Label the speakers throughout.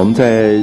Speaker 1: 我们在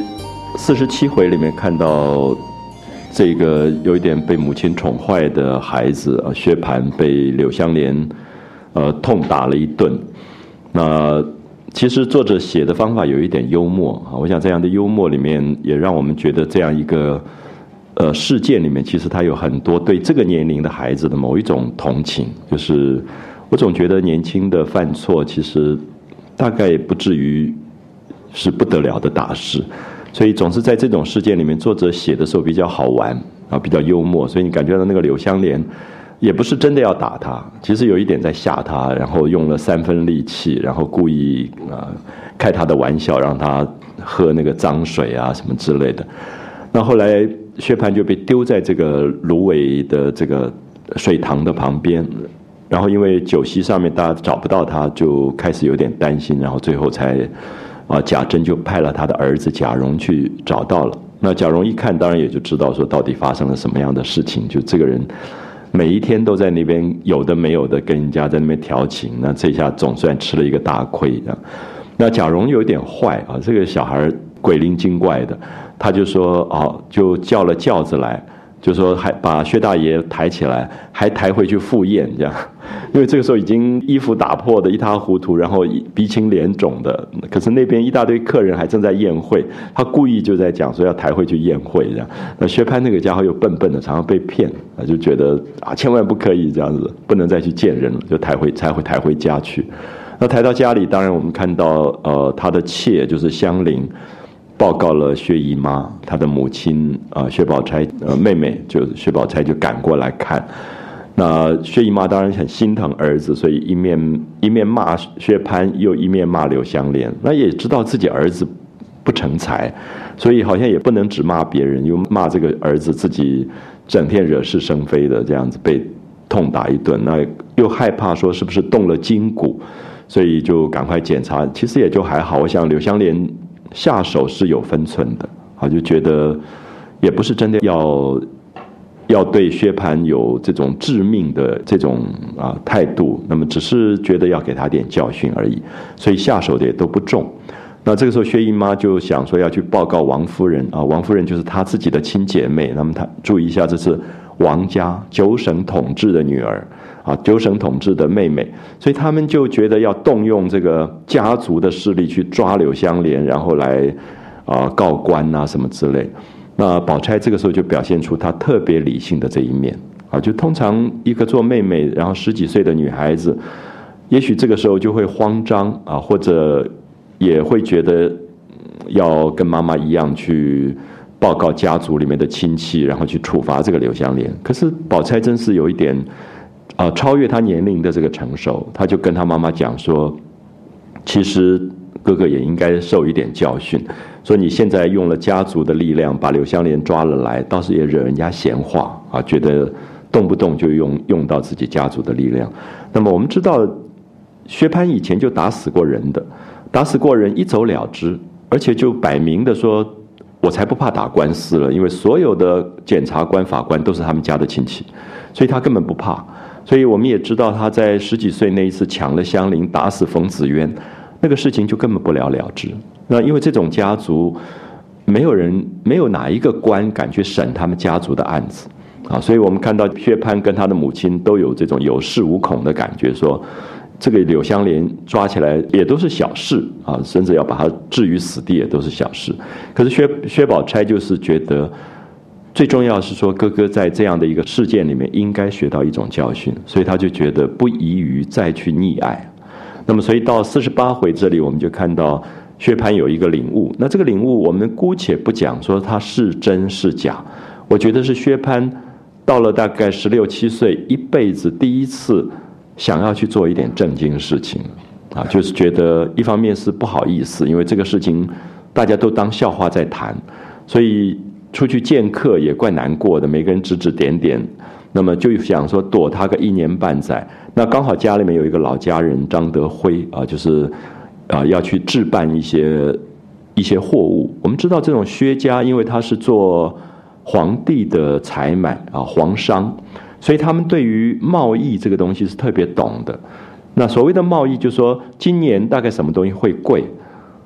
Speaker 1: 47回里面看到这个有一点被母亲宠坏的孩子薛蟠被柳湘莲痛打了一顿。那其实作者写的方法有一点幽默我想这样的幽默里面也让我们觉得这样一个事件里面其实它有很多对这个年龄的孩子的某一种同情，就是我总觉得年轻的犯错其实大概不至于是不得了的大事，所以总是在这种事件里面作者写的时候比较好玩比较幽默，所以你感觉到那个柳湘莲也不是真的要打他，其实有一点在吓他，然后用了3分力气，然后故意开他的玩笑，让他喝那个脏水什么之类的。那后来薛蟠就被丢在这个芦苇的这个水塘的旁边，然后因为酒席上面大家找不到他，就开始有点担心，然后最后才贾珍就派了他的儿子贾蓉去找到了。那贾蓉一看当然也就知道说到底发生了什么样的事情，就这个人每一天都在那边有的没有的跟人家在那边调情，那这下总算吃了一个大亏。那贾蓉有点坏这个小孩鬼灵精怪的，他就说就叫了轿子来，就说还把薛大爷抬起来，还抬回去赴宴这样。因为这个时候已经衣服打破的一塌糊涂，然后鼻青脸肿的，可是那边一大堆客人还正在宴会，他故意就在讲说要抬回去宴会这样。那薛蟠那个家伙又笨笨的，常常被骗，就觉得千万不可以这样子，不能再去见人了，就才会抬回家去。那抬到家里，当然我们看到他的妾就是香菱报告了薛姨妈，她的母亲薛宝钗妹妹就薛宝钗就赶过来看。那薛姨妈当然很心疼儿子，所以一面骂薛蟠，又一面骂柳湘莲。那也知道自己儿子不成才，所以好像也不能只骂别人，又骂这个儿子自己整天惹是生非的，这样子被痛打一顿。那又害怕说是不是动了筋骨，所以就赶快检查。其实也就还好，我想柳湘莲下手是有分寸的就觉得也不是真的要对薛蟠有这种致命的这种态度，那么只是觉得要给他点教训而已，所以下手的也都不重。那这个时候薛姨妈就想说要去报告王夫人王夫人就是她自己的亲姐妹，那么她注意一下，这是王家九省统治的女儿九省统治的妹妹，所以他们就觉得要动用这个家族的势力去抓柳湘莲，然后来告官什么之类。那宝钗这个时候就表现出她特别理性的这一面就通常一个做妹妹然后10几岁的女孩子，也许这个时候就会慌张或者也会觉得要跟妈妈一样去报告家族里面的亲戚，然后去处罚这个柳湘莲。可是宝钗真是有一点超越她年龄的这个成熟，她就跟她妈妈讲说，其实哥哥也应该受一点教训，说你现在用了家族的力量把柳湘莲抓了来，倒是也惹人家闲话觉得动不动就用到自己家族的力量。那么我们知道薛蟠以前就打死过人的，打死过人一走了之，而且就摆明的说我才不怕打官司了，因为所有的检察官法官都是他们家的亲戚，所以他根本不怕。所以我们也知道他在10几岁那一次抢了香菱打死冯子渊，那个事情就根本不了了之。那因为这种家族没有哪一个官敢去审他们家族的案子所以我们看到薛蟠跟他的母亲都有这种有恃无恐的感觉，说这个柳湘莲抓起来也都是小事甚至要把他置于死地也都是小事。可是薛宝钗就是觉得最重要是说哥哥在这样的一个事件里面应该学到一种教训，所以他就觉得不宜于再去溺爱。那么所以到48回这里我们就看到薛蟠有一个领悟，那这个领悟我们姑且不讲说他是真是假，我觉得是薛蟠到了大概16、17岁一辈子第一次想要去做一点正经事情就是觉得一方面是不好意思，因为这个事情大家都当笑话在谈，所以出去见客也怪难过的，每个人指指点点，那么就想说躲他个1年半载。那刚好家里面有一个老家人张德辉就是要去置办一些货物。我们知道这种薛家因为他是做皇帝的采买皇商，所以他们对于贸易这个东西是特别懂的。那所谓的贸易就是说今年大概什么东西会贵，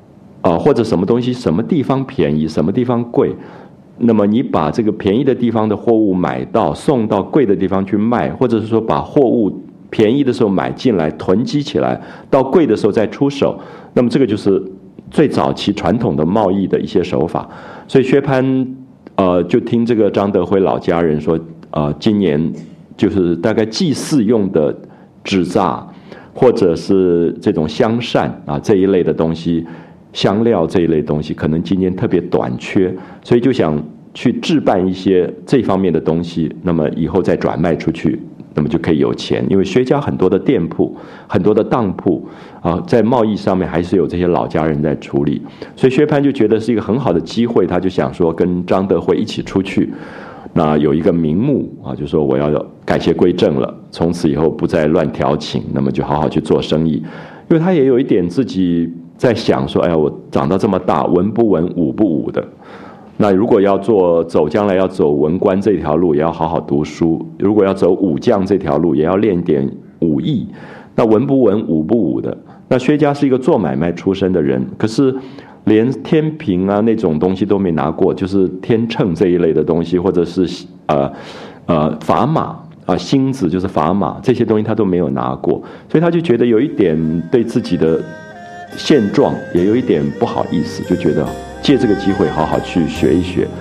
Speaker 1: 或者什么东西什么地方便宜，什么地方贵，那么你把这个便宜的地方的货物买到，送到贵的地方去卖，或者是说把货物便宜的时候买进来囤积起来，到贵的时候再出手，那么这个就是最早期传统的贸易的一些手法。所以薛蟠就听这个张德辉老家人说，今年就是大概祭祀用的纸扎或者是这种香扇这一类的东西，香料这一类东西可能今年特别短缺，所以就想去置办一些这方面的东西，那么以后再转卖出去，那么就可以有钱。因为薛家很多的店铺，很多的当铺在贸易上面还是有这些老家人在处理，所以薛蟠就觉得是一个很好的机会，他就想说跟张德辉一起出去，那有一个名目就说我要改邪归正了，从此以后不再乱调情，那么就好好去做生意。因为他也有一点自己在想说，哎呀，我长到这么大，文不文武不武的，那如果要将来要走文官这条路，也要好好读书；如果要走武将这条路，也要练点武艺。那文不文武不武的，那薛家是一个做买卖出身的人，可是连天平那种东西都没拿过，就是天秤这一类的东西，或者是砝码星子就是砝码，这些东西他都没有拿过，所以他就觉得有一点对自己的现状也有一点不好意思，就觉得借这个机会好好去学一学。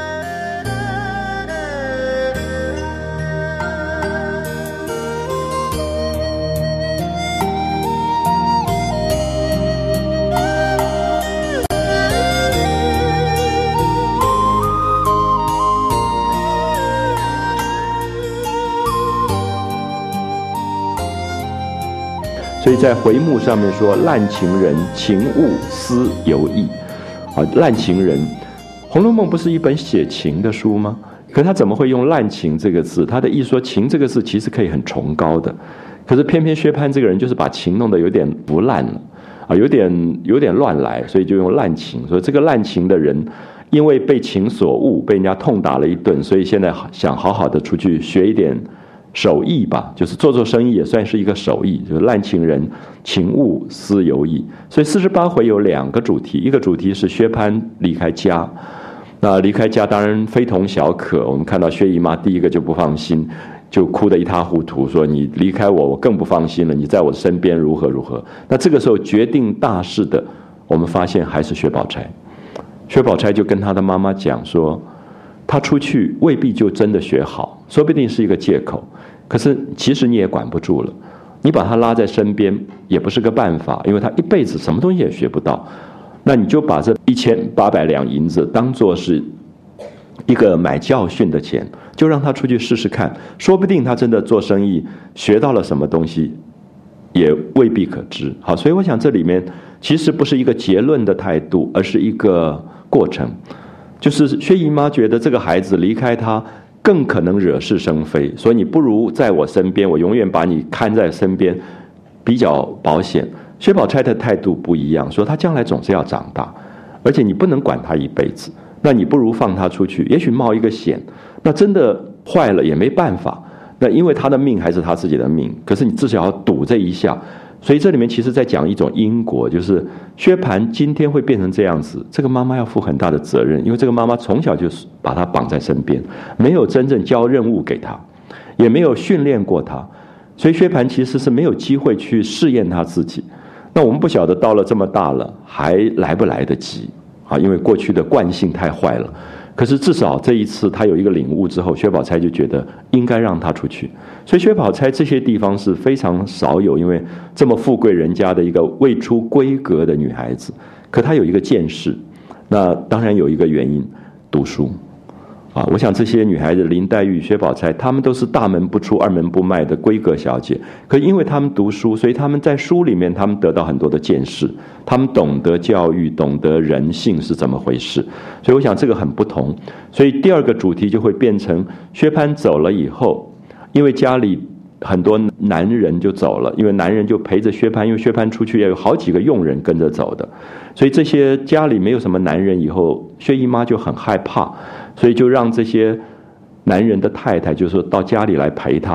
Speaker 1: 所以在回目上面说，滥情人，情物思犹异滥情人，《红楼梦》不是一本写情的书吗？可他怎么会用滥情这个字？他的意思说，情这个字其实可以很崇高的，可是偏偏薛蟠这个人就是把情弄得有点不烂了有点乱来，所以就用滥情。所以这个滥情的人，因为被情所误，被人家痛打了一顿，所以现在想好好的出去学一点手艺吧，就是做生意也算是一个手艺，就是滥情人，情物思犹异。所以48回有2个主题，一个主题是薛蟠离开家，那离开家当然非同小可，我们看到薛姨妈第一个就不放心，就哭得一塌糊涂，说你离开我，我更不放心了，你在我身边如何如何。那这个时候决定大事的，我们发现还是薛宝钗。薛宝钗就跟他的妈妈讲说，他出去未必就真的学好，说不定是一个借口，可是其实你也管不住了，你把他拉在身边也不是个办法，因为他一辈子什么东西也学不到，那你就把这1800两银子当作是一个买教训的钱，就让他出去试试看，说不定他真的做生意学到了什么东西，也未必可知。好，所以我想这里面其实不是一个结论的态度，而是一个过程。就是薛姨妈觉得这个孩子离开她更可能惹是生非，所以你不如在我身边，我永远把你看在身边比较保险。薛宝钗的态度不一样，说她将来总是要长大，而且你不能管她一辈子，那你不如放她出去，也许冒一个险，那真的坏了也没办法，那因为她的命还是她自己的命，可是你至少要赌这一下。所以这里面其实在讲一种因果，就是薛蟠今天会变成这样子，这个妈妈要负很大的责任，因为这个妈妈从小就把他绑在身边，没有真正交任务给他，也没有训练过他，所以薛蟠其实是没有机会去试验他自己。那我们不晓得到了这么大了还来不来得及因为过去的惯性太坏了。可是至少这一次他有一个领悟之后，薛宝钗就觉得应该让他出去。所以薛宝钗这些地方是非常少有，因为这么富贵人家的一个未出闺阁的女孩子，可她有一个见识，那当然有一个原因，读书我想这些女孩子林黛玉、薛宝钗，她们都是大门不出二门不迈的闺阁小姐，可因为她们读书，所以她们在书里面她们得到很多的见识，她们懂得教育，懂得人性是怎么回事，所以我想这个很不同。所以第二个主题就会变成薛蟠走了以后，因为家里很多男人就走了，因为男人就陪着薛蟠，因为薛蟠出去也有好几个佣人跟着走的，所以这些家里没有什么男人以后，薛姨妈就很害怕，所以就让这些男人的太太就说到家里来陪她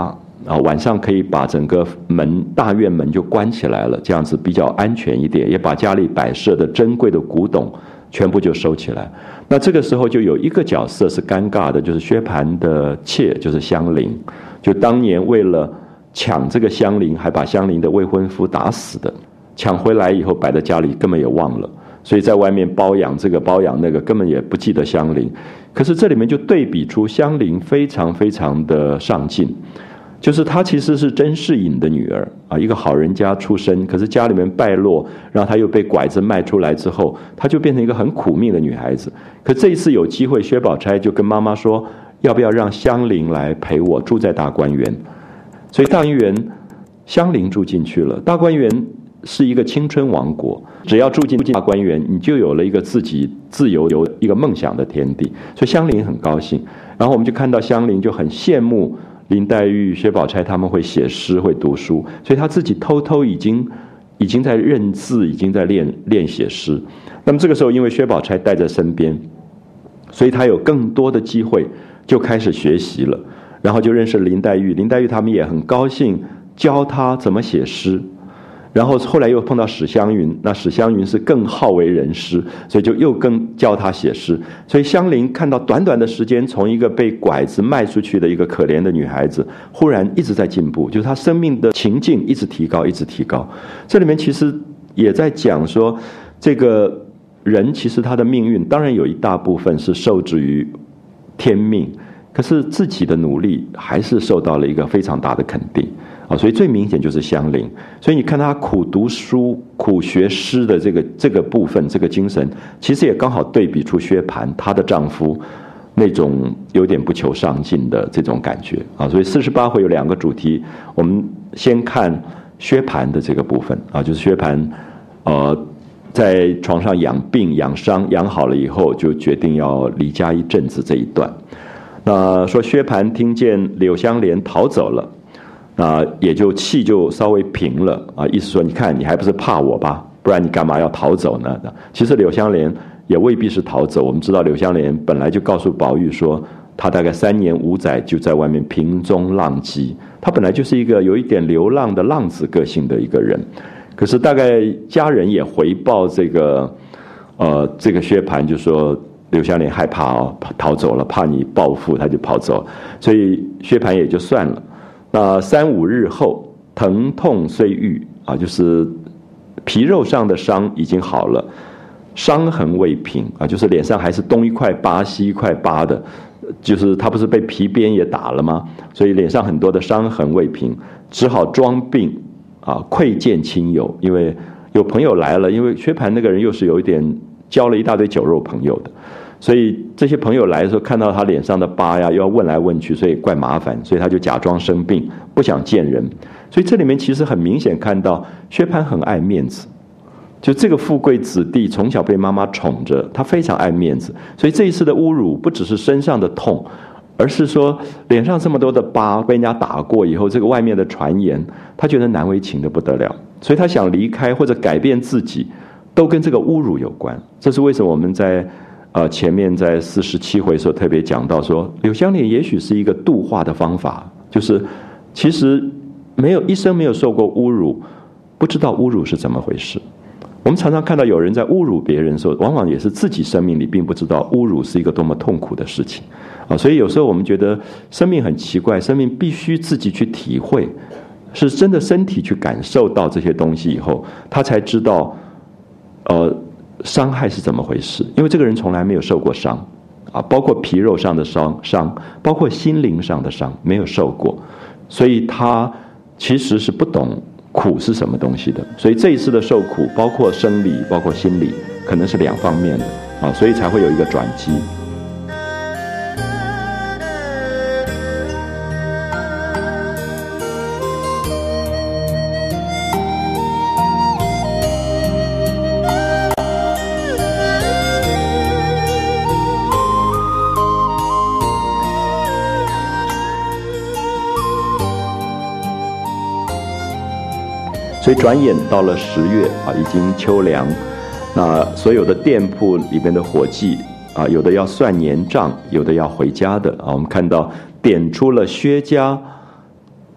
Speaker 1: 啊，晚上可以把整个大院门就关起来了，这样子比较安全一点，也把家里摆设的珍贵的古董全部就收起来。那这个时候就有一个角色是尴尬的，就是薛蟠的妾，就是香菱，就当年为了抢这个香菱，还把香菱的未婚夫打死的，抢回来以后摆在家里根本也忘了，所以在外面包养这个包养那个，根本也不记得香菱。可是这里面就对比出香菱非常非常的上进，就是她其实是甄士隐的女儿啊，一个好人家出身，可是家里面败落，然后她又被拐子卖出来之后，她就变成一个很苦命的女孩子。可这一次有机会，薛宝钗就跟妈妈说，要不要让香菱来陪我住在大观园？所以大观园香菱住进去了。大观园是一个青春王国，只要住进大观园，你就有了一个自己自由有一个梦想的天地。所以香菱很高兴，然后我们就看到香菱就很羡慕林黛玉、薛宝钗他们会写诗、会读书，所以她自己偷偷已经在认字，已经在练写诗。那么这个时候，因为薛宝钗带在身边，所以她有更多的机会就开始学习了，然后就认识林黛玉。林黛玉他们也很高兴，教她怎么写诗。然后后来又碰到史湘云，那史湘云是更好为人师，所以就又更教他写诗。所以香菱看到短短的时间，从一个被拐子卖出去的一个可怜的女孩子，忽然一直在进步，就是她生命的情境一直提高，一直提高。这里面其实也在讲说，这个人其实他的命运当然有一大部分是受制于天命，可是自己的努力还是受到了一个非常大的肯定。所以最明显就是香菱。所以你看她苦读书、苦学诗的这个部分，这个精神，其实也刚好对比出薛蟠她的丈夫那种有点不求上进的这种感觉啊。所以48回有2个主题，我们先看薛蟠的这个部分啊，就是薛蟠在床上养病养伤，养好了以后就决定要离家一阵子这一段。那说薛蟠听见柳湘莲逃走了，也就气就稍微平了啊，意思说你看你还不是怕我吧，不然你干嘛要逃走呢？其实柳湘莲也未必是逃走，我们知道柳湘莲本来就告诉宝玉说，她大概3年5载就在外面平中浪迹，她本来就是一个有一点流浪的浪子个性的一个人。可是大概家人也回报这个薛蟠，就说柳湘莲害怕逃走了，怕你报复，他就跑走，所以薛蟠也就算了。那3、5日后，疼痛虽愈啊，就是皮肉上的伤已经好了，伤痕未平啊，就是脸上还是东一块疤西一块疤的，就是他不是被皮鞭也打了吗？所以脸上很多的伤痕未平，只好装病啊，窥见亲友，因为有朋友来了，因为薛蟠那个人又是有一点交了一大堆酒肉朋友的。所以这些朋友来的时候，看到他脸上的疤呀，又要问来问去，所以怪麻烦，所以他就假装生病，不想见人。所以这里面其实很明显看到薛蟠很爱面子，就这个富贵子弟从小被妈妈宠着，他非常爱面子。所以这一次的侮辱不只是身上的痛，而是说脸上这么多的疤，被人家打过以后，这个外面的传言，他觉得难为情的不得了，所以他想离开或者改变自己，都跟这个侮辱有关。这是为什么我们在前面在47回的时候特别讲到说，柳湘莲也许是一个度化的方法，就是其实一生没有受过侮辱，不知道侮辱是怎么回事。我们常常看到有人在侮辱别人的时候，往往也是自己生命里并不知道侮辱是一个多么痛苦的事情啊。所以有时候我们觉得生命很奇怪，生命必须自己去体会，是真的身体去感受到这些东西以后，他才知道伤害是怎么回事。因为这个人从来没有受过伤啊，包括皮肉上的伤，包括心灵上的伤，没有受过，所以他其实是不懂苦是什么东西的。所以这一次的受苦，包括生理，包括心理，可能是2方面的啊，所以才会有一个转机。所以转眼到了10月啊，已经秋凉，那所有的店铺里面的伙计啊，有的要算年账，有的要回家的啊。我们看到点出了薛家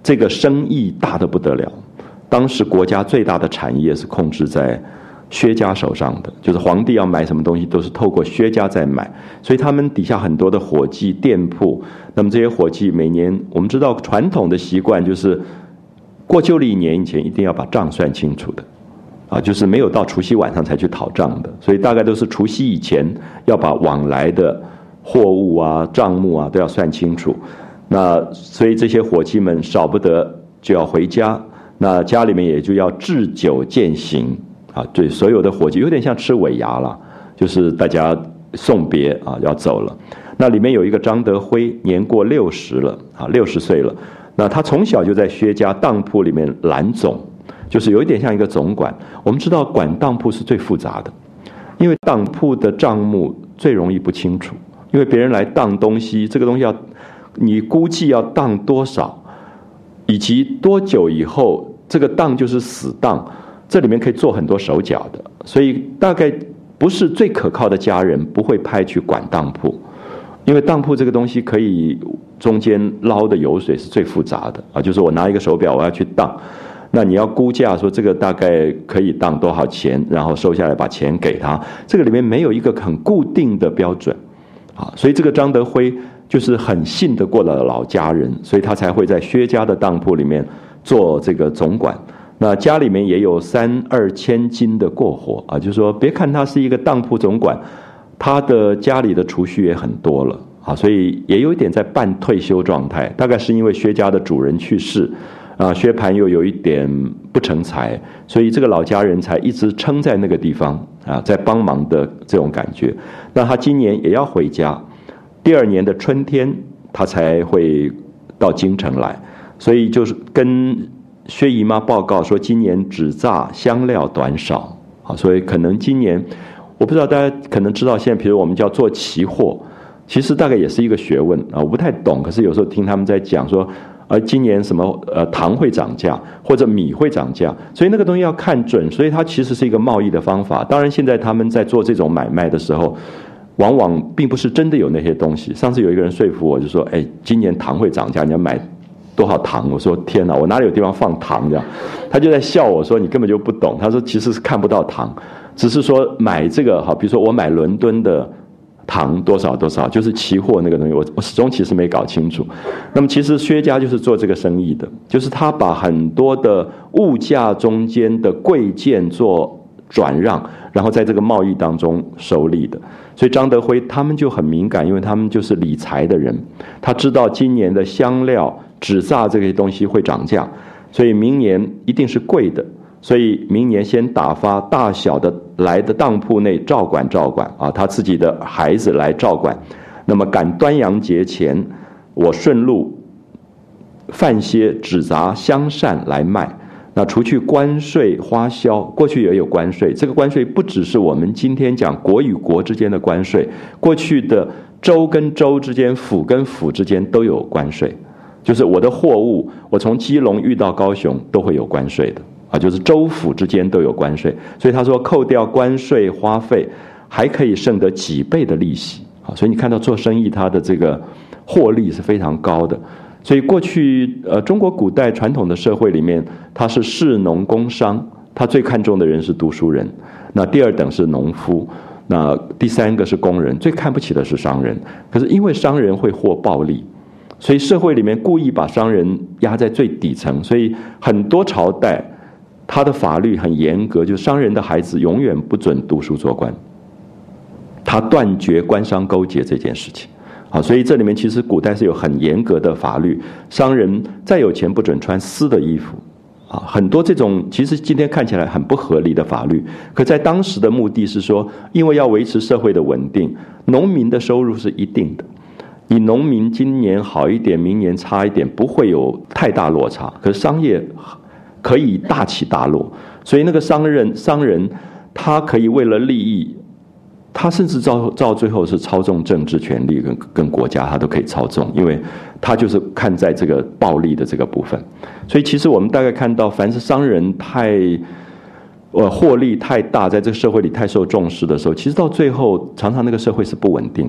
Speaker 1: 这个生意大得不得了。当时国家最大的产业是控制在薛家手上的，就是皇帝要买什么东西都是透过薛家在买，所以他们底下很多的伙计店铺，那么这些伙计每年，我们知道传统的习惯就是过旧历年以前一定要把账算清楚的就是没有到除夕晚上才去讨账的，所以大概都是除夕以前要把往来的货物啊账目啊都要算清楚。那所以这些伙计们少不得就要回家，那家里面也就要置酒饯行对所有的伙计有点像吃尾牙了，就是大家送别要走了。那里面有一个张德辉，年过60了60岁了，那他从小就在薛家当铺里面揽总，就是有一点像一个总管。我们知道管当铺是最复杂的，因为当铺的账目最容易不清楚，因为别人来当东西，这个东西你估计要当多少，以及多久以后这个当就是死当，这里面可以做很多手脚的，所以大概不是最可靠的家人不会派去管当铺，因为当铺这个东西可以中间捞的油水是最复杂的就是我拿一个手表我要去当，那你要估价说这个大概可以当多少钱，然后收下来把钱给他，这个里面没有一个很固定的标准所以这个张德辉就是很信得过的老家人，所以他才会在薛家的当铺里面做这个总管。那家里面也有3-2千金的过活就是说别看他是一个当铺总管，他的家里的储蓄也很多了所以也有一点在半退休状态，大概是因为薛家的主人去世薛蟠又有一点不成才，所以这个老家人才一直撑在那个地方在帮忙的这种感觉。那他今年也要回家，第2年的春天他才会到京城来，所以就是跟薛姨妈报告说今年纸榨香料短少所以可能今年我不知道大家可能知道，现在比如我们叫做期货，其实大概也是一个学问我不太懂，可是有时候听他们在讲说今年什么糖会涨价或者米会涨价，所以那个东西要看准，所以它其实是一个贸易的方法。当然现在他们在做这种买卖的时候往往并不是真的有那些东西。上次有一个人说服我就说今年糖会涨价，你要买多少糖？我说天哪，我哪里有地方放糖这样？他就在笑我说你根本就不懂，他说其实是看不到糖，只是说买这个比如说我买伦敦的糖多少多少，就是期货那个东西，我始终其实没搞清楚。那么其实薛家就是做这个生意的，就是他把很多的物价中间的贵贱做转让，然后在这个贸易当中收利的。所以张德辉他们就很敏感，因为他们就是理财的人，他知道今年的香料纸榨这些东西会涨价，所以明年一定是贵的，所以明年先打发大小的来的当铺内照管照管他自己的孩子来照管。那么赶端阳节前，我顺路贩些纸杂香扇来卖。那除去关税花销，过去也有关税，这个关税不只是我们今天讲国与国之间的关税，过去的州跟州之间、府跟府之间都有关税，就是我的货物我从基隆运到高雄都会有关税的就是州府之间都有关税。所以他说扣掉关税花费还可以剩得几倍的利息所以你看到做生意他的这个获利是非常高的。所以过去中国古代传统的社会里面，他是士农工商，他最看重的人是读书人，那第2等是农夫，那第3个是工人，最看不起的是商人。可是因为商人会获暴利，所以社会里面故意把商人压在最底层，所以很多朝代他的法律很严格，就是商人的孩子永远不准读书做官，他断绝官商勾结这件事情所以这里面其实古代是有很严格的法律，商人再有钱不准穿丝的衣服很多这种其实今天看起来很不合理的法律，可在当时的目的是说，因为要维持社会的稳定，农民的收入是一定的，你农民今年好一点，明年差一点，不会有太大落差，可是商业可以大起大落，所以那个商人他可以为了利益，他甚至到最后是操纵政治权力跟国家，他都可以操纵，因为他就是看在这个暴利的这个部分。所以其实我们大概看到，凡是商人获利太大，在这个社会里太受重视的时候，其实到最后常常那个社会是不稳定的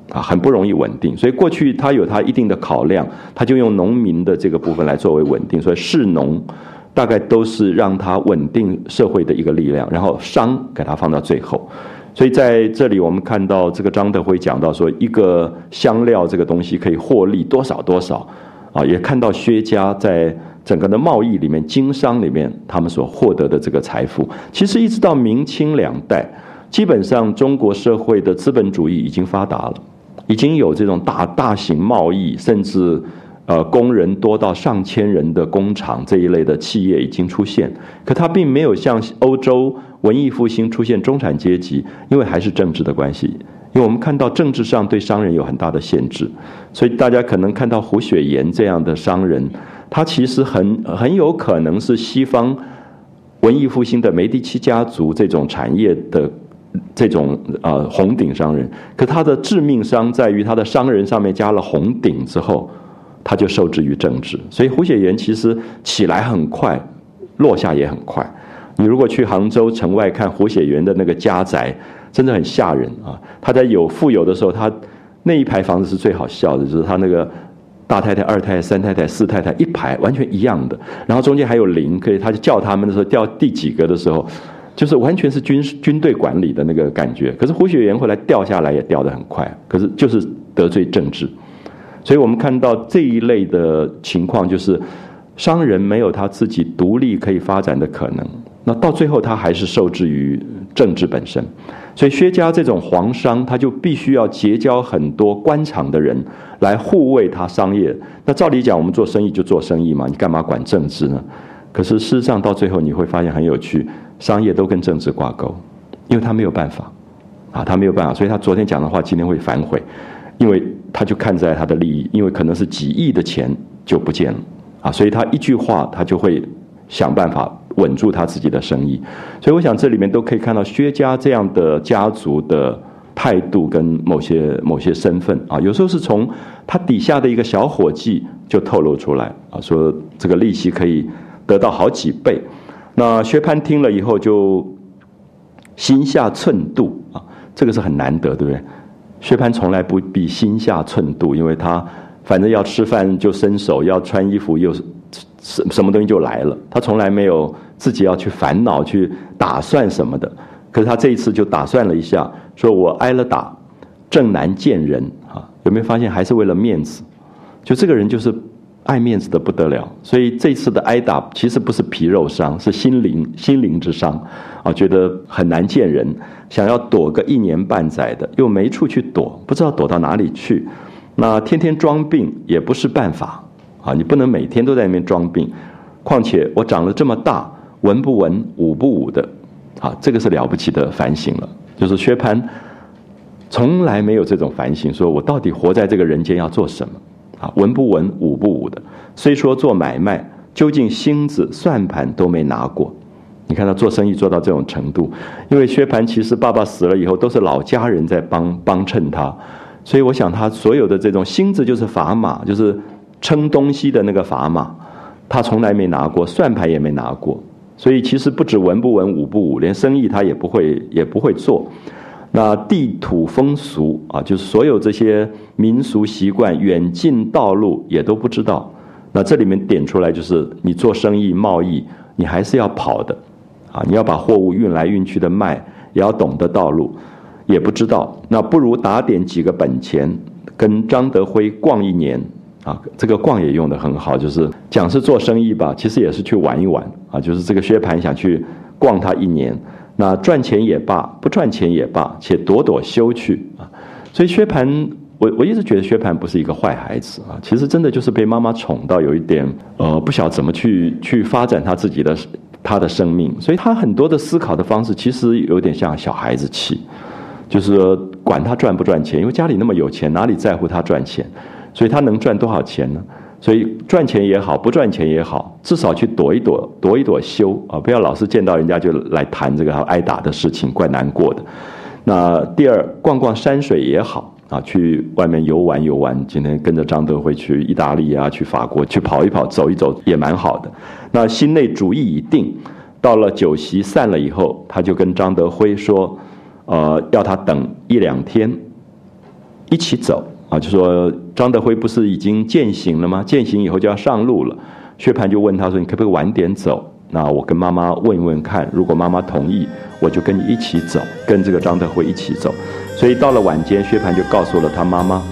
Speaker 1: 很不容易稳定。所以过去他有他一定的考量，他就用农民的这个部分来作为稳定，所以士农大概都是让他稳定社会的一个力量，然后商给他放到最后。所以在这里我们看到这个张德辉讲到说，一个香料这个东西可以获利多少多少也看到薛家在整个的贸易里面、经商里面他们所获得的这个财富。其实一直到明清两代，基本上中国社会的资本主义已经发达了，已经有这种大型贸易，甚至工人多到上千人的工厂这一类的企业已经出现，可它并没有像欧洲文艺复兴出现中产阶级，因为还是政治的关系。因为我们看到政治上对商人有很大的限制，所以大家可能看到胡雪岩这样的商人，他其实很有可能是西方文艺复兴的梅第奇家族这种产业的这种红顶商人，可他的致命伤在于他的商人上面加了红顶之后，他就受制于政治。所以胡雪岩其实起来很快，落下也很快。你如果去杭州城外看胡雪岩的那个家宅，真的很吓人啊！他在富有的时候，他那一排房子是最好笑的，就是他那个大太太、二太太、三太太、四太太一排完全一样的，然后中间还有零，可以他就叫他们的时候掉第几个的时候，就是完全是军队管理的那个感觉。可是胡雪岩后来掉下来也掉得很快，可是就是得罪政治。所以我们看到这一类的情况，就是商人没有他自己独立可以发展的可能，那到最后他还是受制于政治本身。所以薛家这种皇商，他就必须要结交很多官场的人来护卫他商业。那照理讲，我们做生意就做生意嘛，你干嘛管政治呢？可是事实上到最后你会发现很有趣，商业都跟政治挂钩，因为他没有办法他没有办法，所以他昨天讲的话今天会反悔，因为他就看在他的利益，因为可能是几亿的钱就不见了所以他一句话他就会想办法稳住他自己的生意。所以我想这里面都可以看到薛家这样的家族的态度跟某些身份有时候是从他底下的一个小伙计就透露出来说这个利息可以得到好几倍。那薛蟠听了以后就心下寸度这个是很难得，对不对？薛蟠从来不必心下寸度，因为他反正要吃饭就伸手，要穿衣服又什么东西就来了，他从来没有自己要去烦恼去打算什么的。可是他这一次就打算了一下，说我挨了打正难见人有没有发现还是为了面子？就这个人就是爱面子的不得了，所以这次的挨打其实不是皮肉伤，是心灵之伤觉得很难见人，想要躲个1年半载的，又没处去躲，不知道躲到哪里去。那天天装病也不是办法你不能每天都在那边装病。况且我长了这么大，文不文武不武的这个是了不起的反省了。就是薛蟠从来没有这种反省，说我到底活在这个人间要做什么文不文武不武的。虽说做买卖，究竟星子算盘都没拿过。你看他做生意做到这种程度，因为薛蟠其实爸爸死了以后都是老家人在帮衬他，所以我想他所有的这种星子就是砝码，就是称东西的那个砝码，他从来没拿过，算盘也没拿过。所以其实不止文不文武不武，连生意他也不会做。那地土风俗就是所有这些民俗习惯远近道路也都不知道。那这里面点出来就是你做生意贸易你还是要跑的你要把货物运来运去的卖，也要懂得道路，也不知道。那不如打点几个本钱，跟张德辉逛1年这个逛也用得很好，就是讲是做生意吧，其实也是去玩一玩就是这个薛蟠想去逛他1年，那赚钱也罢，不赚钱也罢，且躲躲休去所以薛蟠我一直觉得薛蟠不是一个坏孩子其实真的就是被妈妈宠到有一点不晓得怎么去发展他的生命。所以他很多的思考的方式其实有点像小孩子气，就是说管他赚不赚钱，因为家里那么有钱，哪里在乎他赚钱？所以他能赚多少钱呢？所以赚钱也好，不赚钱也好，至少去躲一躲休不要老是见到人家就来谈这个挨打的事情，怪难过的。那第二，逛逛山水也好去外面游玩，今天跟着张德辉去意大利去法国去跑一跑走一走也蛮好的。那心内主意已定，到了酒席散了以后，他就跟张德辉说要他等1-2天一起走啊，就说张德辉不是已经践行了吗？践行以后就要上路了。薛蟠就问他说：“你可不可以晚点走？那我跟妈妈问一问看，如果妈妈同意，我就跟你一起走，跟这个张德辉一起走。”所以到了晚间，薛蟠就告诉了他妈妈。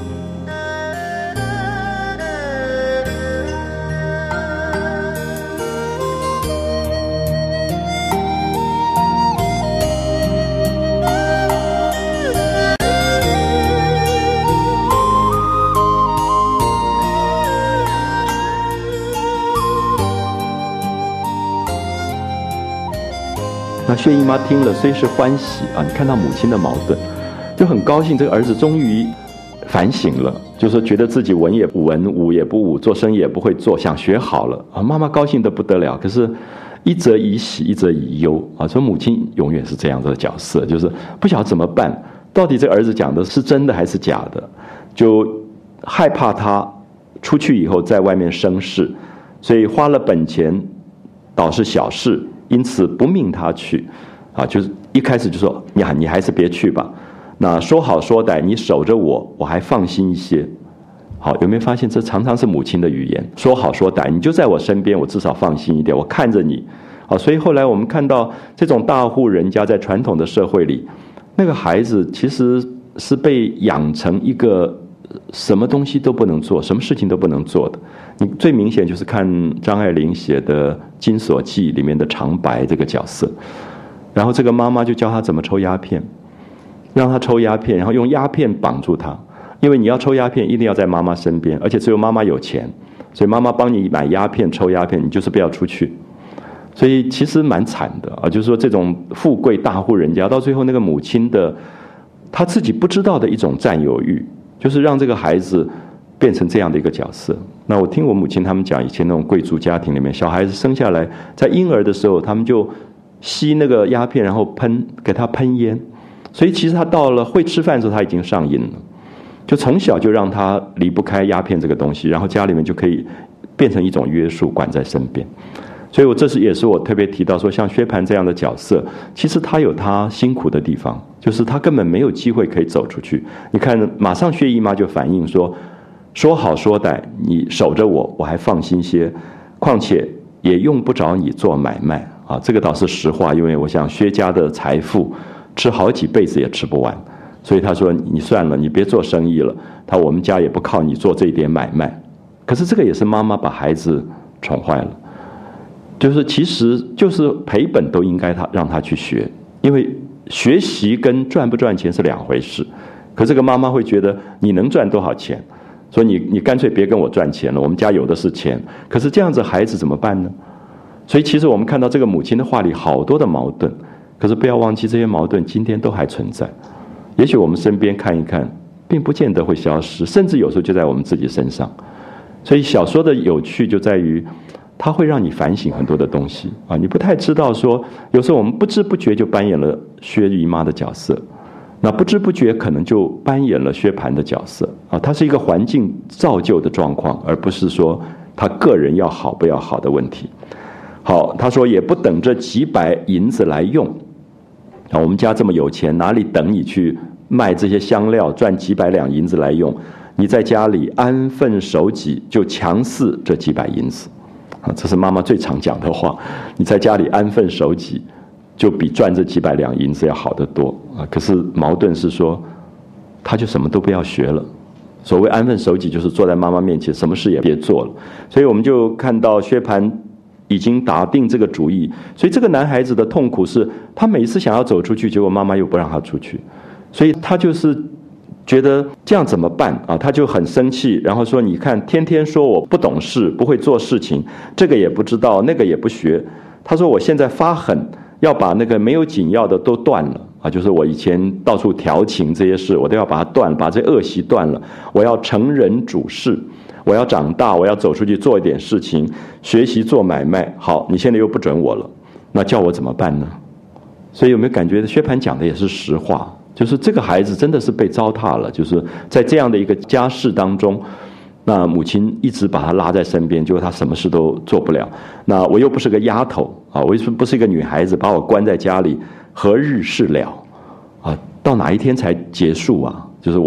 Speaker 1: 那薛姨妈听了虽是欢喜啊，你看到母亲的矛盾，就很高兴，这个儿子终于反省了，就是觉得自己文也不文，武也不武，做生意也不会做，想学好了啊。妈妈高兴得不得了，可是一则以喜，一则以忧啊。说母亲永远是这样的角色，就是不晓得怎么办，到底这个儿子讲的是真的还是假的，就害怕他出去以后在外面生事，所以花了本钱倒是小事，因此不命他去啊。就是一开始就说你还是别去吧，那说好说歹，你守着我还放心一些。好，有没有发现这常常是母亲的语言？说好说歹，你就在我身边，我至少放心一点，我看着你。好，所以后来我们看到这种大户人家在传统的社会里，那个孩子其实是被养成一个什么东西都不能做，什么事情都不能做的。你最明显就是看张爱玲写的《金锁记》里面的长白这个角色，然后这个妈妈就教他怎么抽鸦片，让他抽鸦片，然后用鸦片绑住他，因为你要抽鸦片一定要在妈妈身边，而且只有妈妈有钱，所以妈妈帮你买鸦片抽鸦片，你就是不要出去。所以其实蛮惨的啊，就是说这种富贵大户人家到最后那个母亲的她自己不知道的一种占有欲，就是让这个孩子变成这样的一个角色。那我听我母亲他们讲，以前那种贵族家庭里面，小孩子生下来在婴儿的时候，他们就吸那个鸦片，然后给他喷烟，所以其实他到了会吃饭的时候他已经上瘾了，就从小就让他离不开鸦片这个东西，然后家里面就可以变成一种约束，管在身边。所以我也是我特别提到说，像薛蟠这样的角色，其实他有他辛苦的地方，就是他根本没有机会可以走出去。你看马上薛姨妈就反映说，说好说歹，你守着我还放心些，况且也用不着你做买卖啊。这个倒是实话，因为我想薛家的财富吃好几辈子也吃不完，所以他说你算了，你别做生意了，我们家也不靠你做这一点买卖。可是这个也是妈妈把孩子宠坏了，就是其实就是赔本都应该让他去学，因为学习跟赚不赚钱是两回事。可这个妈妈会觉得你能赚多少钱，所以你干脆别跟我赚钱了，我们家有的是钱。可是这样子孩子怎么办呢？所以其实我们看到这个母亲的话里好多的矛盾，可是不要忘记这些矛盾今天都还存在。也许我们身边看一看，并不见得会消失，甚至有时候就在我们自己身上。所以小说的有趣就在于它会让你反省很多的东西啊，你不太知道说，有时候我们不知不觉就扮演了薛姨妈的角色，那不知不觉可能就扮演了薛蟠的角色啊。它是一个环境造就的状况，而不是说他个人要好不要好的问题。好，他说也不等这几百银子来用啊，我们家这么有钱，哪里等你去卖这些香料赚几百两银子来用？你在家里安分守己，就强似这几百银子。啊，这是妈妈最常讲的话。你在家里安分守己，就比赚这几百两银子要好得多啊。可是矛盾是说，他就什么都不要学了。所谓安分守己，就是坐在妈妈面前，什么事也别做了。所以我们就看到薛蟠已经打定这个主意。所以这个男孩子的痛苦是，他每一次想要走出去，结果妈妈又不让他出去，所以他就是觉得这样怎么办啊？他就很生气，然后说：“你看，天天说我不懂事，不会做事情，这个也不知道，那个也不学。”他说：“我现在发狠，要把那个没有紧要的都断了啊！就是我以前到处调情这些事，我都要把它断，把这恶习断了。我要成人主事，我要长大，我要走出去做一点事情，学习做买卖。好，你现在又不准我了，那叫我怎么办呢？”所以有没有感觉薛蟠讲的也是实话？就是这个孩子真的是被糟蹋了，就是在这样的一个家世当中，那母亲一直把他拉在身边，结果他什么事都做不了。那我又不是个丫头啊，我又不是一个女孩子，把我关在家里，何日是了啊？到哪一天才结束啊？就是我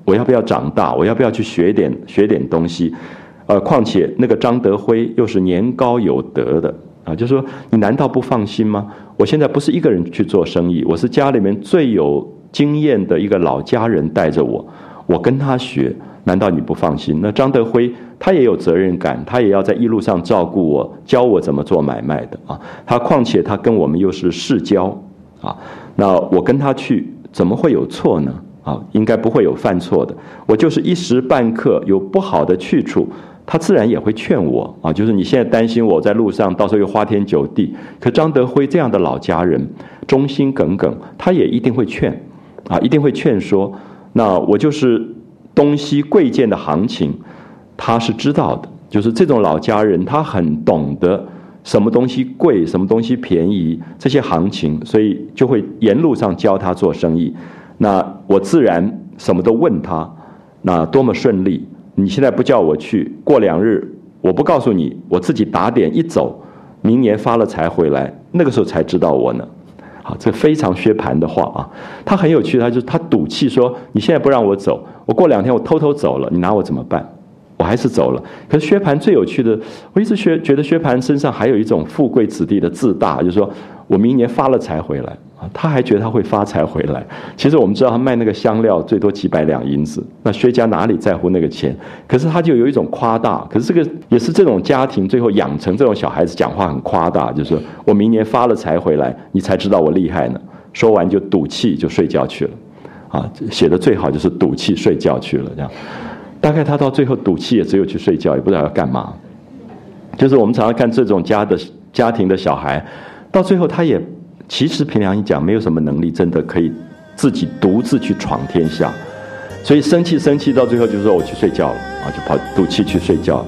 Speaker 1: 我要不要长大？我要不要去学点东西？况且那个张德辉又是年高有德的啊，就说你难道不放心吗？我现在不是一个人去做生意，我是家里面最有经验的一个老家人带着我，我跟他学，难道你不放心？那张德辉他也有责任感，他也要在一路上照顾我，教我怎么做买卖的啊。况且他跟我们又是世交啊，那我跟他去怎么会有错呢？啊，应该不会有犯错的。我就是一时半刻有不好的去处，他自然也会劝我啊。就是你现在担心我在路上到时候又花天酒地，可张德辉这样的老家人，忠心耿耿，他也一定会劝啊，一定会劝说。那我就是东西贵贱的行情，他是知道的。就是这种老家人，他很懂得什么东西贵，什么东西便宜，这些行情，所以就会沿路上教他做生意。那我自然什么都问他，那多么顺利！你现在不叫我去，过2日我不告诉你，我自己打点一走，明年发了财回来，那个时候才知道我呢。好，这非常薛蟠的话啊，他很有趣，他赌气说，你现在不让我走，我过2天我偷偷走了，你拿我怎么办？我还是走了。可是薛蟠最有趣的，我一直觉得薛蟠身上还有一种富贵子弟的自大，就是说我明年发了财回来啊，他还觉得他会发财回来。其实我们知道他卖那个香料最多几百两银子，那薛家哪里在乎那个钱？可是他就有一种夸大，可是这个也是这种家庭最后养成这种小孩子讲话很夸大，就是说我明年发了财回来，你才知道我厉害呢。说完就赌气就睡觉去了，啊，写的最好就是赌气睡觉去了这样。大概他到最后赌气也只有去睡觉，也不知道要干嘛。就是我们常常看这种家庭的小孩，到最后他也其实凭良心讲，没有什么能力真的可以自己独自去闯天下，所以生气到最后就说我去睡觉了啊，就跑赌气去睡觉了。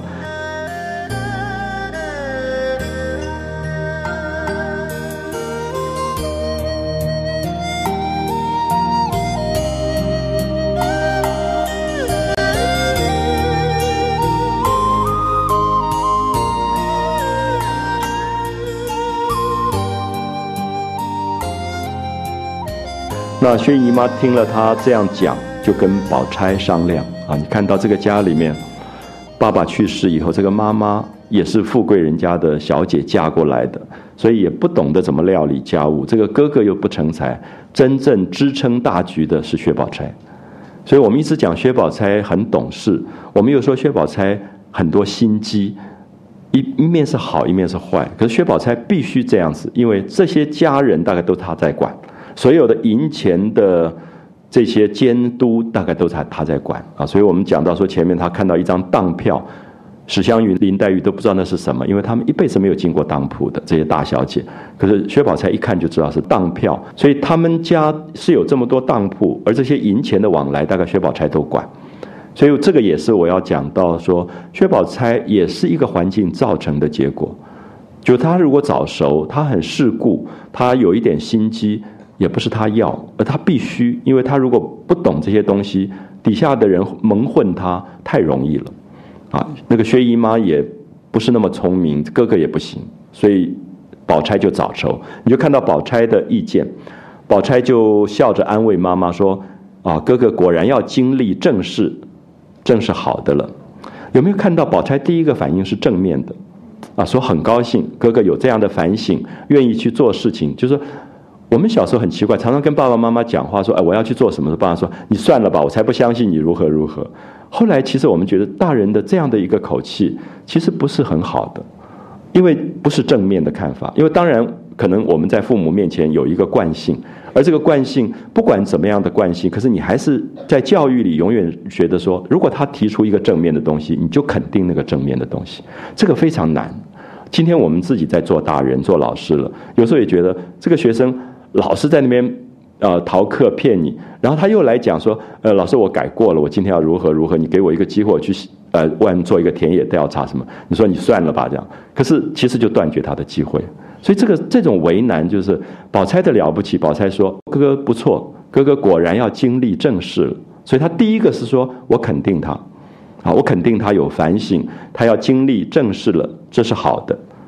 Speaker 1: 那薛姨妈听了他这样讲，就跟宝钗商量啊。你看到这个家里面，爸爸去世以后，这个妈妈也是富贵人家的小姐嫁过来的，所以也不懂得怎么料理家务。这个哥哥又不成才，真正支撑大局的是薛宝钗。所以我们一直讲薛宝钗很懂事，我们又说薛宝钗很多心机，一面是好，一面是坏。可是薛宝钗必须这样子，因为这些家人大概都他在管。所有的银钱的这些监督大概都是他在管啊，所以我们讲到说前面他看到一张当票，史湘云、林黛玉都不知道那是什么，因为他们一辈子没有进过当铺的这些大小姐，可是薛宝钗一看就知道是当票，所以他们家是有这么多当铺，而这些银钱的往来大概薛宝钗都管，所以这个也是我要讲到说薛宝钗也是一个环境造成的结果，就他如果早熟，他很世故，他有一点心机。也不是他要，而他必须，因为他如果不懂这些东西，底下的人蒙混他太容易了，啊，那个薛姨妈也不是那么聪明，哥哥也不行，所以宝钗就早熟。你就看到宝钗的意见，宝钗就笑着安慰妈妈说：“啊，哥哥果然要经历正事，正是好的了。”有没有看到宝钗第一个反应是正面的？啊，说很高兴哥哥有这样的反省，愿意去做事情，就是说。我们小时候很奇怪，常常跟爸爸妈妈讲话说：“哎，我要去做什么？”爸爸说：“你算了吧，我才不相信你如何如何。”后来其实我们觉得大人的这样的一个口气，其实不是很好的，因为不是正面的看法。因为当然可能我们在父母面前有一个惯性，而这个惯性不管怎么样的惯性，可是你还是在教育里永远觉得说，如果他提出一个正面的东西，你就肯定那个正面的东西，这个非常难。今天我们自己在做大人、做老师了，有时候也觉得这个学生。老师在那边逃课骗你，然后他又来讲说老师我改过了，我今天要如何如何，你给我一个机会我去外面做一个田野调查什么，你说你算了吧这样，可是其实就断绝他的机会。所以这种为难就是宝钗的了不起。宝钗说哥哥不错，哥哥果然要经历正事了，所以他第一个是说我肯定他，我肯定他有反省，他要经历正事了，这是好的。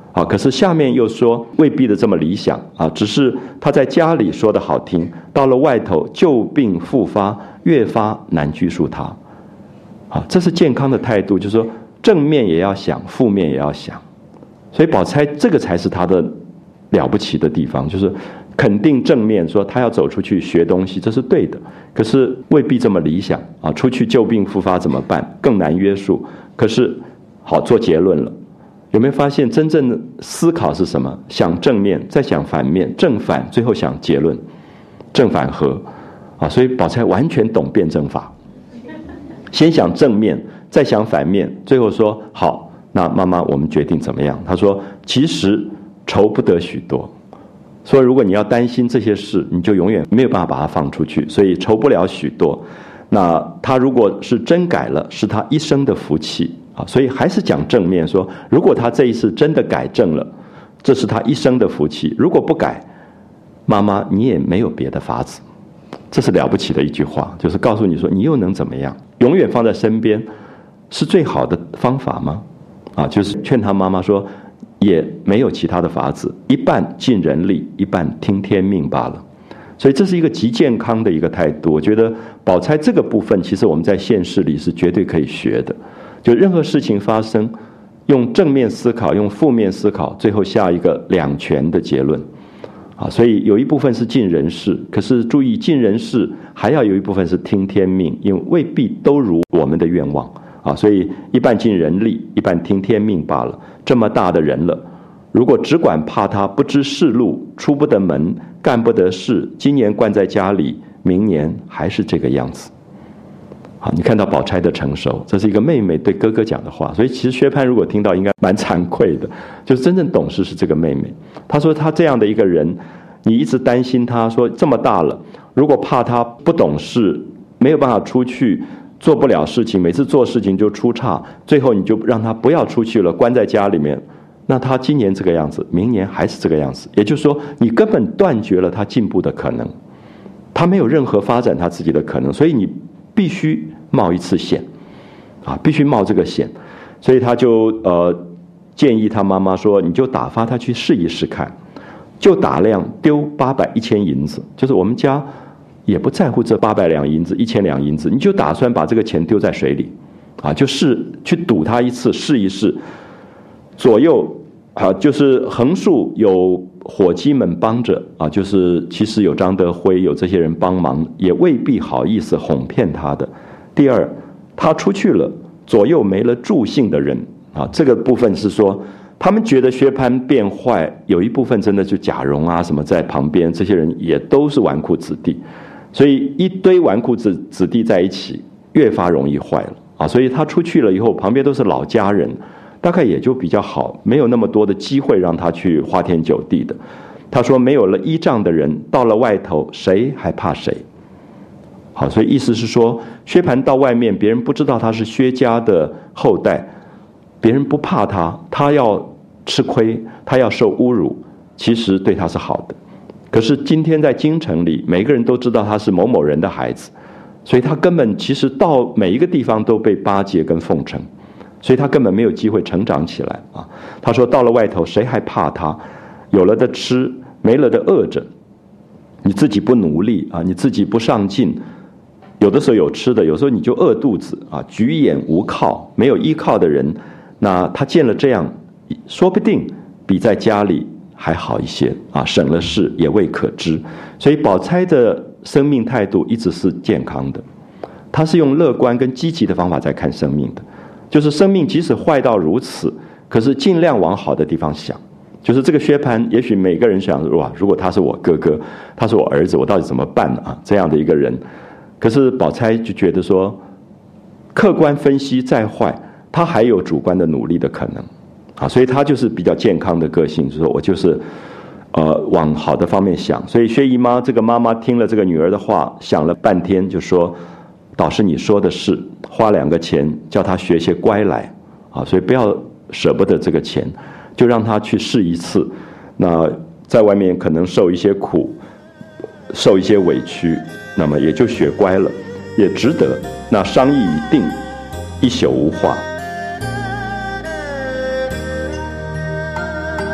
Speaker 1: 啊，可是下面又说未必的这么理想啊，只是他在家里说的好听，到了外头旧病复发，越发难拘束他。啊，这是健康的态度，就是说正面也要想，负面也要想。所以宝钗这个才是他的了不起的地方，就是肯定正面，说他要走出去学东西，这是对的。可是未必这么理想啊，出去旧病复发怎么办？更难约束。可是好做结论了。有没有发现真正的思考是什么？想正面，再想反面，正反，最后想结论，正反合啊！所以宝钗完全懂辩证法，先想正面，再想反面，最后说好，那妈妈我们决定怎么样？她说其实愁不得许多，说如果你要担心这些事，你就永远没有办法把它放出去，所以愁不了许多。那他如果是真改了，是他一生的福气。所以还是讲正面，说如果他这一次真的改正了，这是他一生的福气。如果不改，妈妈你也没有别的法子。这是了不起的一句话，就是告诉你说你又能怎么样？永远放在身边是最好的方法吗？就是劝他妈妈说也没有其他的法子，一半尽人力，一半听天命罢了。所以这是一个极健康的一个态度。我觉得宝钗这个部分其实我们在现实里是绝对可以学的，就任何事情发生，用正面思考，用负面思考，最后下一个两全的结论。所以有一部分是尽人事，可是注意尽人事还要有一部分是听天命，因为未必都如我们的愿望。所以一半尽人力，一半听天命罢了。这么大的人了，如果只管怕他不知世路，出不得门，干不得事，今年关在家里，明年还是这个样子。好，你看到宝钗的成熟，这是一个妹妹对哥哥讲的话。所以其实薛蟠如果听到应该蛮惭愧的，就是真正懂事是这个妹妹。她说她这样的一个人，你一直担心她，说这么大了，如果怕她不懂事，没有办法出去，做不了事情，每次做事情就出岔，最后你就让她不要出去了，关在家里面，那她今年这个样子，明年还是这个样子。也就是说你根本断绝了她进步的可能，她没有任何发展她自己的可能，所以你必须冒一次险，必须冒这个险。所以他就建议他妈妈说，你就打发他去试一试看，就打量丢800、1000银子，就是我们家也不在乎这800两银子、1000两银子，你就打算把这个钱丢在水里，就是去赌他一次，试一试。左右就是横竖有伙计们帮着就是其实有张德辉，有这些人帮忙，也未必好意思哄骗他的。第二，他出去了，左右没了助兴的人这个部分是说，他们觉得薛蟠变坏，有一部分真的就贾蓉什么在旁边，这些人也都是纨绔子弟，所以一堆纨绔子弟在一起，越发容易坏了所以他出去了以后，旁边都是老家人，大概也就比较好，没有那么多的机会让他去花天酒地的。他说没有了依仗的人，到了外头谁还怕谁？好，所以意思是说，薛蟠到外面，别人不知道他是薛家的后代，别人不怕他，他要吃亏，他要受侮辱，其实对他是好的。可是今天在京城里，每个人都知道他是某某人的孩子，所以他根本其实到每一个地方都被巴结跟奉承，所以他根本没有机会成长起来他说到了外头谁还怕他？有了的吃，没了的饿着。你自己不努力你自己不上进，有的时候有吃的，有时候你就饿肚子举眼无靠，没有依靠的人，那他见了这样，说不定比在家里还好一些省了事也未可知。所以宝钗的生命态度一直是健康的，她是用乐观跟积极的方法在看生命的，就是生命即使坏到如此，可是尽量往好的地方想。就是这个薛蟠，也许每个人想哇，如果他是我哥哥，他是我儿子，我到底怎么办这样的一个人。可是宝钗就觉得说，客观分析再坏，他还有主观的努力的可能所以他就是比较健康的个性，就是说我就是往好的方面想。所以薛姨妈这个妈妈听了这个女儿的话，想了半天，就说导师你说的是，花2个钱叫他学些乖来所以不要舍不得这个钱，就让他去试一次。那在外面可能受一些苦，受一些委屈，那么也就学乖了，也值得。那商议已定，一宿无话。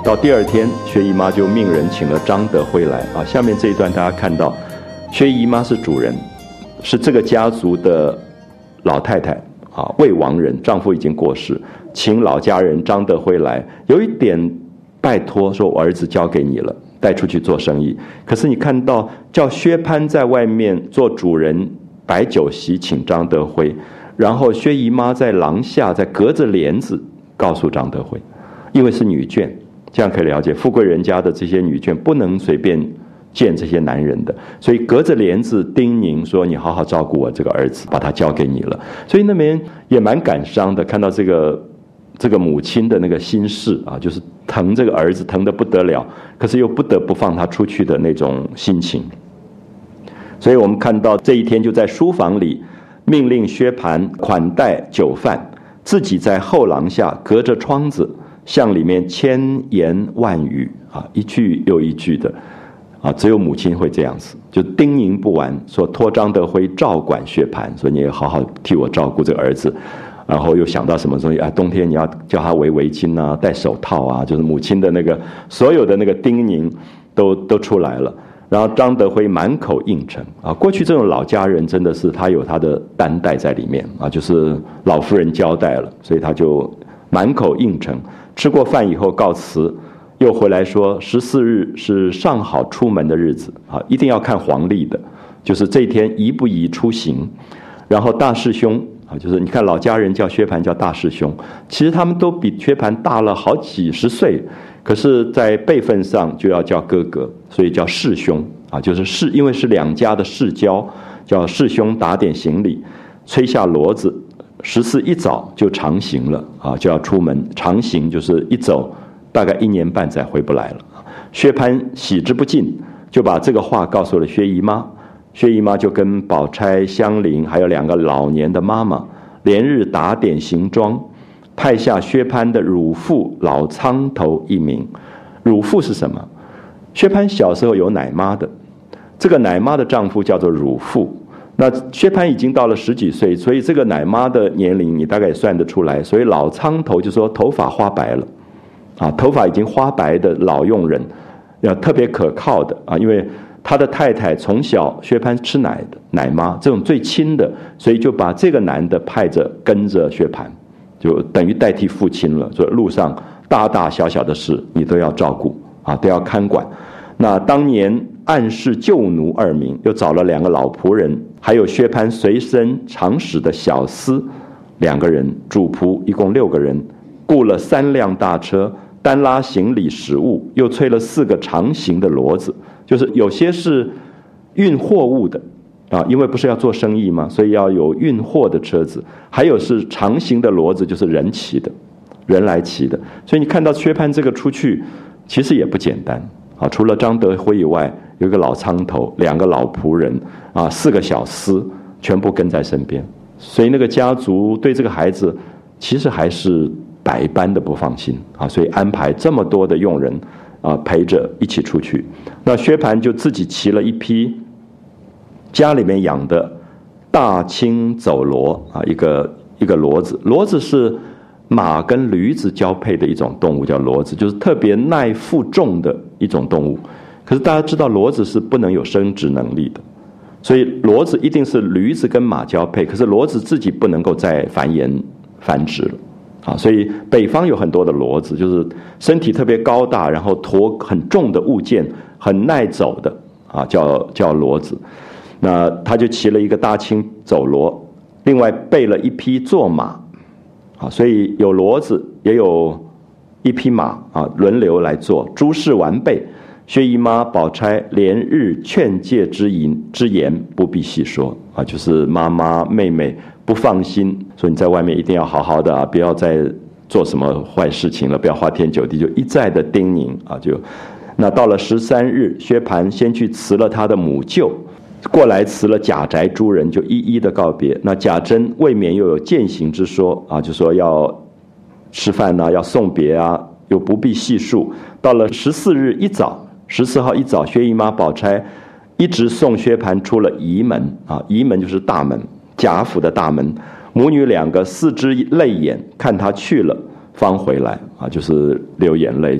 Speaker 1: 到第二天，薛姨妈就命人请了张德辉来啊。下面这一段大家看到，薛姨妈是主人，是这个家族的老太太啊，未亡人，丈夫已经过世，请老家人张德辉来，有一点拜托，说我儿子交给你了，带出去做生意。可是你看到叫薛蟠在外面做主人摆酒席请张德辉，然后薛姨妈在廊下在隔着帘子告诉张德辉，因为是女眷，这样可以了解富贵人家的这些女眷不能随便见这些男人的，所以隔着帘子叮咛说你好好照顾我这个儿子，把他交给你了。所以那边也蛮感伤的，看到这个母亲的那个心事啊，就是疼这个儿子疼得不得了，可是又不得不放他出去的那种心情。所以我们看到这一天就在书房里命令薛蟠款待酒饭，自己在后廊下隔着窗子向里面千言万语啊，一句又一句的啊，只有母亲会这样子，就叮咛不完，说托张德辉照管薛蟠，说你也好好替我照顾这个儿子。然后又想到什么东西啊？冬天你要叫他围围巾啊，戴手套啊，就是母亲的那个所有的那个叮咛都出来了。然后张德辉满口应承啊。过去这种老家人真的是他有他的担待在里面啊，就是老夫人交代了，所以他就满口应承。吃过饭以后告辞，又回来说14日是上好出门的日子啊，一定要看黄历的，就是这一天宜不宜出行。然后大师兄啊，就是你看老家人叫薛蟠叫大师兄，其实他们都比薛蟠大了好几十岁，可是在辈分上就要叫哥哥，所以叫世兄啊，就是因为是两家的世交，叫世兄打点行李，吹下骡子，14一早就长行了啊，就要出门。长行就是一走大概1年半载回不来了。薛蟠喜之不尽，就把这个话告诉了薛姨妈。薛姨妈就跟宝钗、香菱还有2个老年的妈妈，连日打点行装，派下薛蟠的乳父老苍头一名。乳父是什么？薛蟠小时候有奶妈的，这个奶妈的丈夫叫做乳父。那薛蟠已经到了10几岁，所以这个奶妈的年龄你大概也算得出来。所以老苍头就说头发花白了啊，头发已经花白的老佣人，要特别可靠的啊，因为他的太太从小薛蟠吃奶的奶妈，这种最亲的，所以就把这个男的派着跟着薛蟠，就等于代替父亲了。所以路上大大小小的事你都要照顾啊，都要看管。那当年暗示旧奴2名，又找了2个老仆人，还有薛蟠随身常使的小厮2个人，主仆一共6个人，雇了3辆大车，单拉行李食物，又催了4个长行的骡子。就是有些是运货物的啊，因为不是要做生意嘛，所以要有运货的车子，还有是长行的骡子，就是人骑的，人来骑的。所以你看到薛蟠这个出去其实也不简单啊，除了张德辉以外，有一个老苍头，2个老仆人啊，4个小厮全部跟在身边，所以那个家族对这个孩子其实还是百般的不放心啊，所以安排这么多的佣人啊，陪着一起出去。那薛蟠就自己骑了一匹家里面养的大青走骡啊，一个骡子。骡子是马跟驴子交配的一种动物，叫骡子，就是特别耐负重的一种动物。可是大家知道骡子是不能有生殖能力的，所以骡子一定是驴子跟马交配，可是骡子自己不能够再繁衍繁殖了啊，所以北方有很多的骡子，就是身体特别高大，然后驮很重的物件，很耐走的啊，叫骡子。那他就骑了一个大青走骡，另外备了一匹坐马啊，所以有骡子也有一匹马啊，轮流来坐。诸事完备，薛姨妈、宝钗连日劝诫之言不必细说啊，就是妈妈妹妹不放心，说你在外面一定要好好的啊，不要再做什么坏事情了，不要花天酒地，就一再的叮咛啊。那到了13日，薛蟠先去辞了他的母舅，过来辞了贾宅诸人，就一一的告别。那贾珍未免又有践行之说啊，就说要吃饭啊，要送别啊，又不必细述。到了14日一早，14号一早，薛姨妈、宝钗一直送薛蟠出了仪门啊，仪门就是大门，贾府的大门。母女2个4只泪眼看他去了，方回来啊，就是流眼泪，就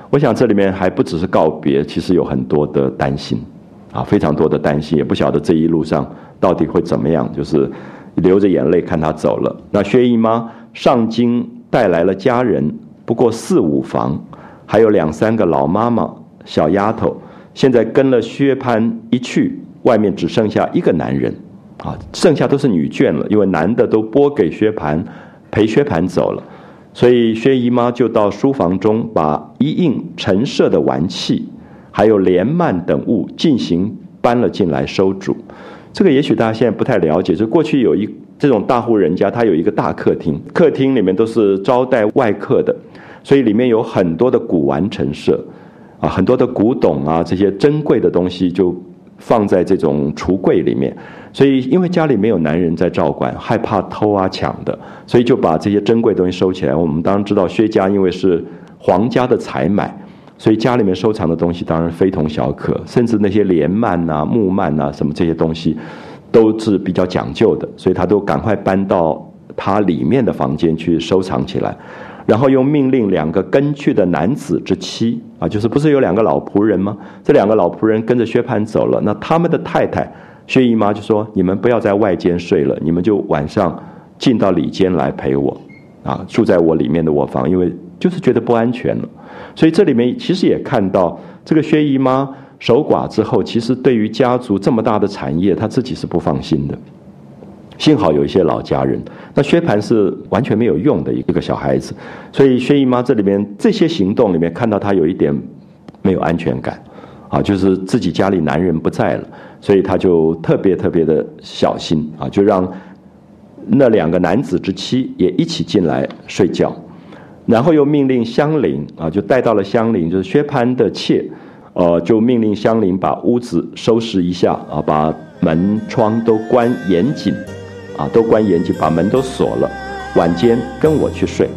Speaker 1: 我想这里面还不只是告别，其实有很多的担心啊，非常多的担心，也不晓得这一路上到底会怎么样，就是流着眼泪看他走了。那薛姨妈上京带来了家人，不过4、5房，还有2、3个老妈妈、小丫头，现在跟了薛蟠一去，外面只剩下1个男人啊，剩下都是女眷了，因为男的都拨给薛蟠，陪薛蟠走了。所以薛姨妈就到书房中，把一应陈设的玩器，还有帘幔等物进行搬了进来收煮。这个也许大家现在不太了解，就过去有这种大户人家，他有一个大客厅，客厅里面都是招待外客的，所以里面有很多的古玩陈设啊，很多的古董啊，这些珍贵的东西就放在这种橱柜里面。所以因为家里没有男人在照管，害怕偷啊抢的，所以就把这些珍贵的东西收起来。我们当然知道薛家因为是皇家的采买，所以家里面收藏的东西当然非同小可，甚至那些帘幔啊、木幔啊什么这些东西都是比较讲究的，所以他都赶快搬到他里面的房间去收藏起来。然后又命令2个跟去的男子之妻啊，就是不是有2个老仆人吗？这2个老仆人跟着薛蟠走了，那他们的太太薛姨妈就说：“你们不要在外间睡了，你们就晚上进到里间来陪我，啊，住在我里面的卧房，因为就是觉得不安全了。”所以这里面其实也看到，这个薛姨妈守寡之后，其实对于家族这么大的产业，她自己是不放心的。幸好有一些老家人，那薛蟠是完全没有用的一个小孩子，所以薛姨妈这里面这些行动里面看到她有一点没有安全感，啊，就是自己家里男人不在了，所以她就特别的小心啊，就让那2个男子之妻也一起进来睡觉，然后又命令香菱啊，就带到了香菱，就是薛蟠的妾，就命令香菱把屋子收拾一下啊，把门窗都关严谨。啊，都关严谨，把门都锁了。晚间跟我去睡。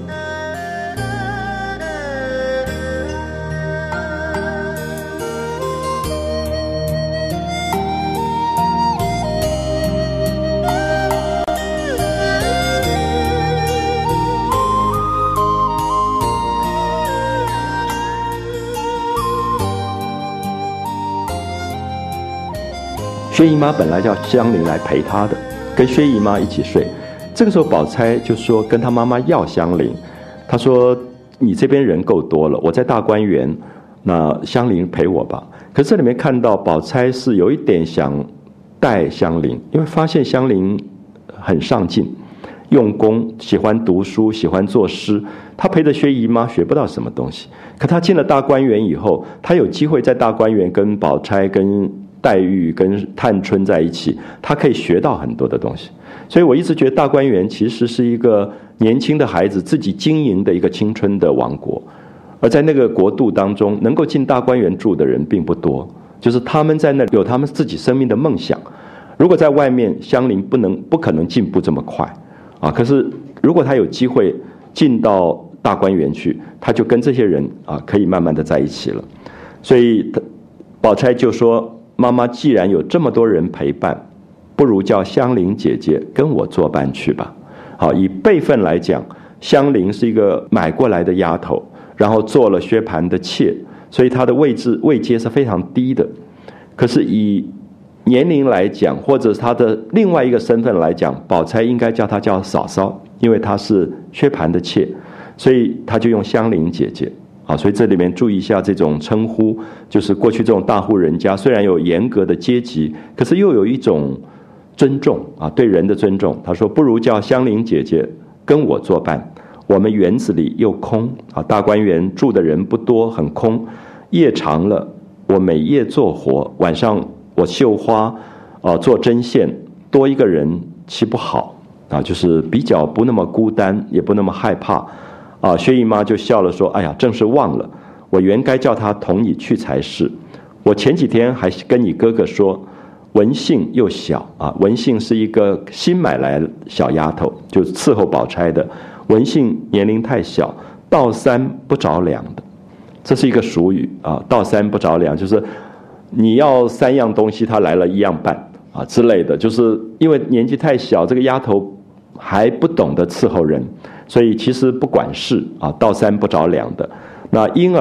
Speaker 1: 薛姨妈本来叫香菱来陪她的。跟薛姨妈一起睡，这个时候宝钗就说跟她妈妈要香菱，她说你这边人够多了，我在大观园，那香菱陪我吧。可是这里面看到宝钗是有一点想带香菱，因为发现香菱很上进，用功，喜欢读书，喜欢作诗。她陪着薛姨妈学不到什么东西，可她进了大观园以后，她有机会在大观园跟宝钗、跟黛玉跟探春在一起，他可以学到很多的东西。所以我一直觉得大观园其实是一个年轻的孩子自己经营的一个青春的王国，而在那个国度当中，能够进大观园住的人并不多，就是他们在那里有他们自己生命的梦想。如果在外面，香菱不可能进步这么快啊。可是如果他有机会进到大观园去，他就跟这些人啊可以慢慢的在一起了。所以宝钗就说，妈妈既然有这么多人陪伴，不如叫香菱姐姐跟我作伴去吧。好，以辈分来讲，香菱是一个买过来的丫头，然后做了薛蟠的妾，所以她的位阶是非常低的。可是以年龄来讲，或者她的另外一个身份来讲，宝钗应该叫她叫嫂嫂，因为她是薛蟠的妾，所以她就用香菱姐姐。啊，所以这里面注意一下这种称呼，就是过去这种大户人家虽然有严格的阶级，可是又有一种尊重啊，对人的尊重。他说不如叫香菱姐姐跟我作伴，我们园子里又空啊，大观园住的人不多，很空，夜长了，我每夜做活，晚上我绣花做针线，多一个人岂不好啊？就是比较不那么孤单，也不那么害怕。啊，薛姨妈就笑了说：“哎呀，正是忘了，我原该叫她同你去才是。我前几天还跟你哥哥说，文杏又小啊，文杏是一个新买来小丫头，就是伺候宝钗的。文杏年龄太小，倒三不着两的，这是一个俗语啊。倒三不着两，就是你要3样东西，她来了1样半啊之类的，就是因为年纪太小，这个丫头还不懂得伺候人。”所以其实不管事啊，倒三不着两的。那因而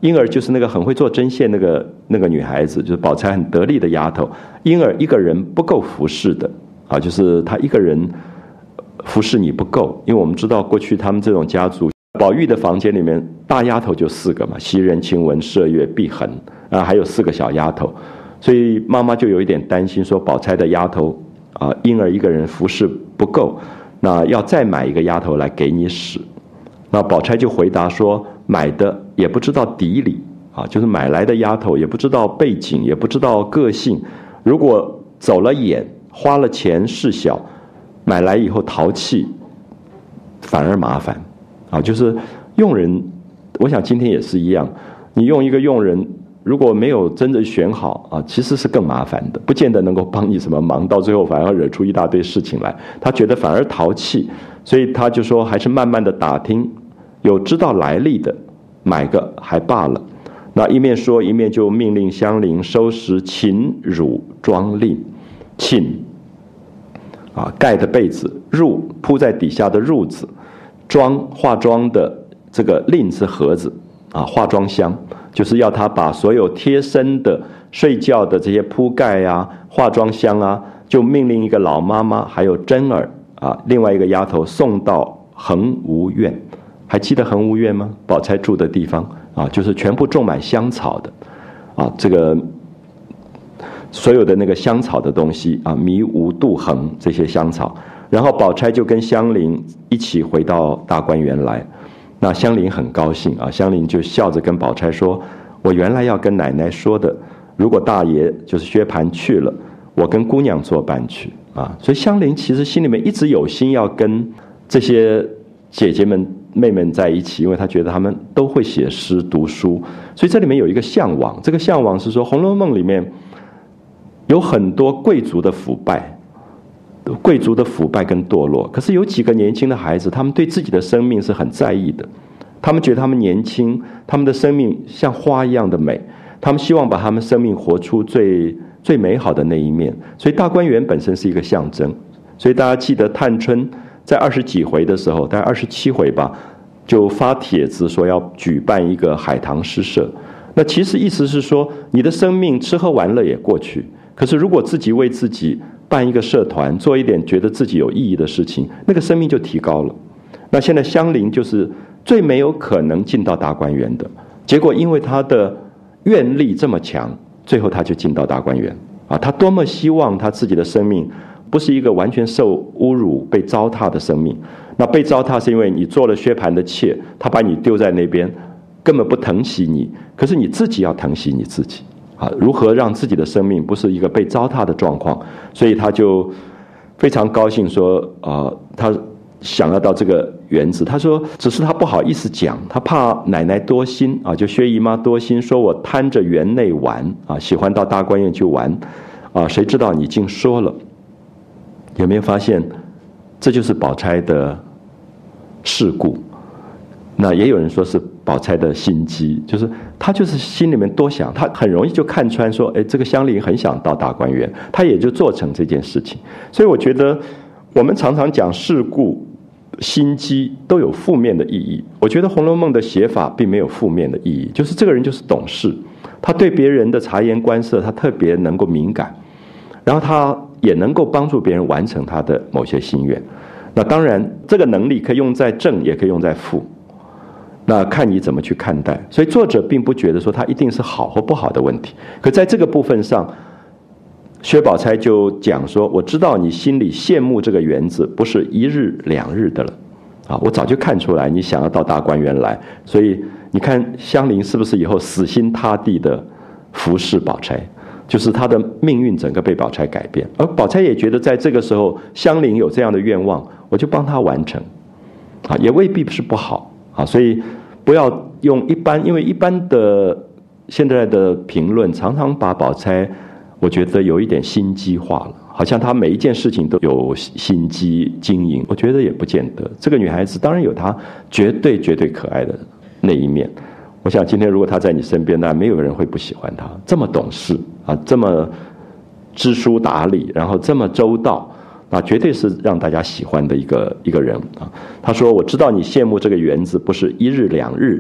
Speaker 1: 婴儿就是那个很会做针线那个女孩子，就是宝钗很得力的丫头。婴儿一个人不够服侍的啊，就是她一个人服侍你不够，因为我们知道过去他们这种家族，宝玉的房间里面大丫头就4个嘛，袭人、晴雯、麝月、碧痕啊，还有4个小丫头，所以妈妈就有一点担心，说宝钗的丫头啊，婴儿一个人服侍不够，那要再买一个丫头来给你使。那宝钗就回答说，买的也不知道底里啊，就是买来的丫头也不知道背景，也不知道个性，如果走了眼，花了钱事小，买来以后淘气，反而麻烦啊。就是用人，我想今天也是一样，你用一个用人，如果没有真的选好啊，其实是更麻烦的，不见得能够帮你什么忙，到最后反而惹出一大堆事情来。他觉得反而淘气，所以他就说还是慢慢的打听，有知道来历的买个还罢了。那一面说一面就命令香菱收拾寝褥妆令。寝啊，盖的被子；褥铺在底下的褥子；妆化妆的这个令是盒子啊，化妆箱，就是要他把所有贴身的睡觉的这些铺盖啊、化妆箱啊，就命令一个老妈妈还有真儿啊，另外一个丫头送到恒芜院。还记得恒芜院吗？宝钗住的地方啊，就是全部种满香草的啊，这个所有的那个香草的东西啊，迷芜、杜衡这些香草。然后宝钗就跟香菱一起回到大观园来。那香菱很高兴啊，香菱就笑着跟宝钗说：“我原来要跟奶奶说的，如果大爷就是薛蟠去了，我跟姑娘作伴去啊。”所以香菱其实心里面一直有心要跟这些姐姐们、妹妹在一起，因为她觉得她们都会写诗、读书，所以这里面有一个向往。这个向往是说，《红楼梦》里面有很多贵族的腐败。贵族的腐败跟堕落，可是有几个年轻的孩子，他们对自己的生命是很在意的。他们觉得他们年轻，他们的生命像花一样的美，他们希望把他们生命活出最美好的那一面。所以大观园本身是一个象征。所以大家记得探春在20几回的时候，大概27回吧，就发帖子说要举办一个海棠诗社。那其实意思是说，你的生命吃喝玩乐也过去，可是如果自己为自己办一个社团，做一点觉得自己有意义的事情，那个生命就提高了。那现在香菱就是最没有可能进到大观园的，结果因为她的愿力这么强，最后她就进到大观园啊！她多么希望她自己的生命不是一个完全受侮辱、被糟蹋的生命。那被糟蹋是因为你做了薛蟠的妾，他把你丢在那边，根本不疼惜你。可是你自己要疼惜你自己。如何让自己的生命不是一个被糟蹋的状况？所以他就非常高兴说，他想要到这个园子。他说，只是他不好意思讲，他怕奶奶多心啊，就薛姨妈多心，说我贪着园内玩啊，喜欢到大观园去玩啊。谁知道你竟说了？有没有发现，这就是宝钗的世故？那也有人说是宝钗的心机，就是她就是心里面多想，她很容易就看穿说，哎，这个香菱很想到大观园，她也就做成这件事情。所以我觉得我们常常讲世故、心机都有负面的意义，我觉得《红楼梦》的写法并没有负面的意义，就是这个人就是懂事，他对别人的察言观色他特别能够敏感，然后他也能够帮助别人完成他的某些心愿。那当然这个能力可以用在正，也可以用在负，那看你怎么去看待。所以作者并不觉得说他一定是好或不好的问题，可在这个部分上，薛宝钗就讲说，我知道你心里羡慕这个园子不是1日2日的了啊，我早就看出来你想要到大观园来。所以你看香菱是不是以后死心塌地的服侍宝钗，就是她的命运整个被宝钗改变。而宝钗也觉得在这个时候香菱有这样的愿望，我就帮她完成啊，也未必是不好啊。所以不要用一般，因为一般的现在的评论常常把宝钗我觉得有一点心机化了，好像她每一件事情都有心机经营，我觉得也不见得。这个女孩子当然有她绝对可爱的那一面，我想今天如果她在你身边，那没有人会不喜欢她，这么懂事啊，这么知书达理，然后这么周到，那绝对是让大家喜欢的一个人啊。他说，我知道你羡慕这个园子不是1日2日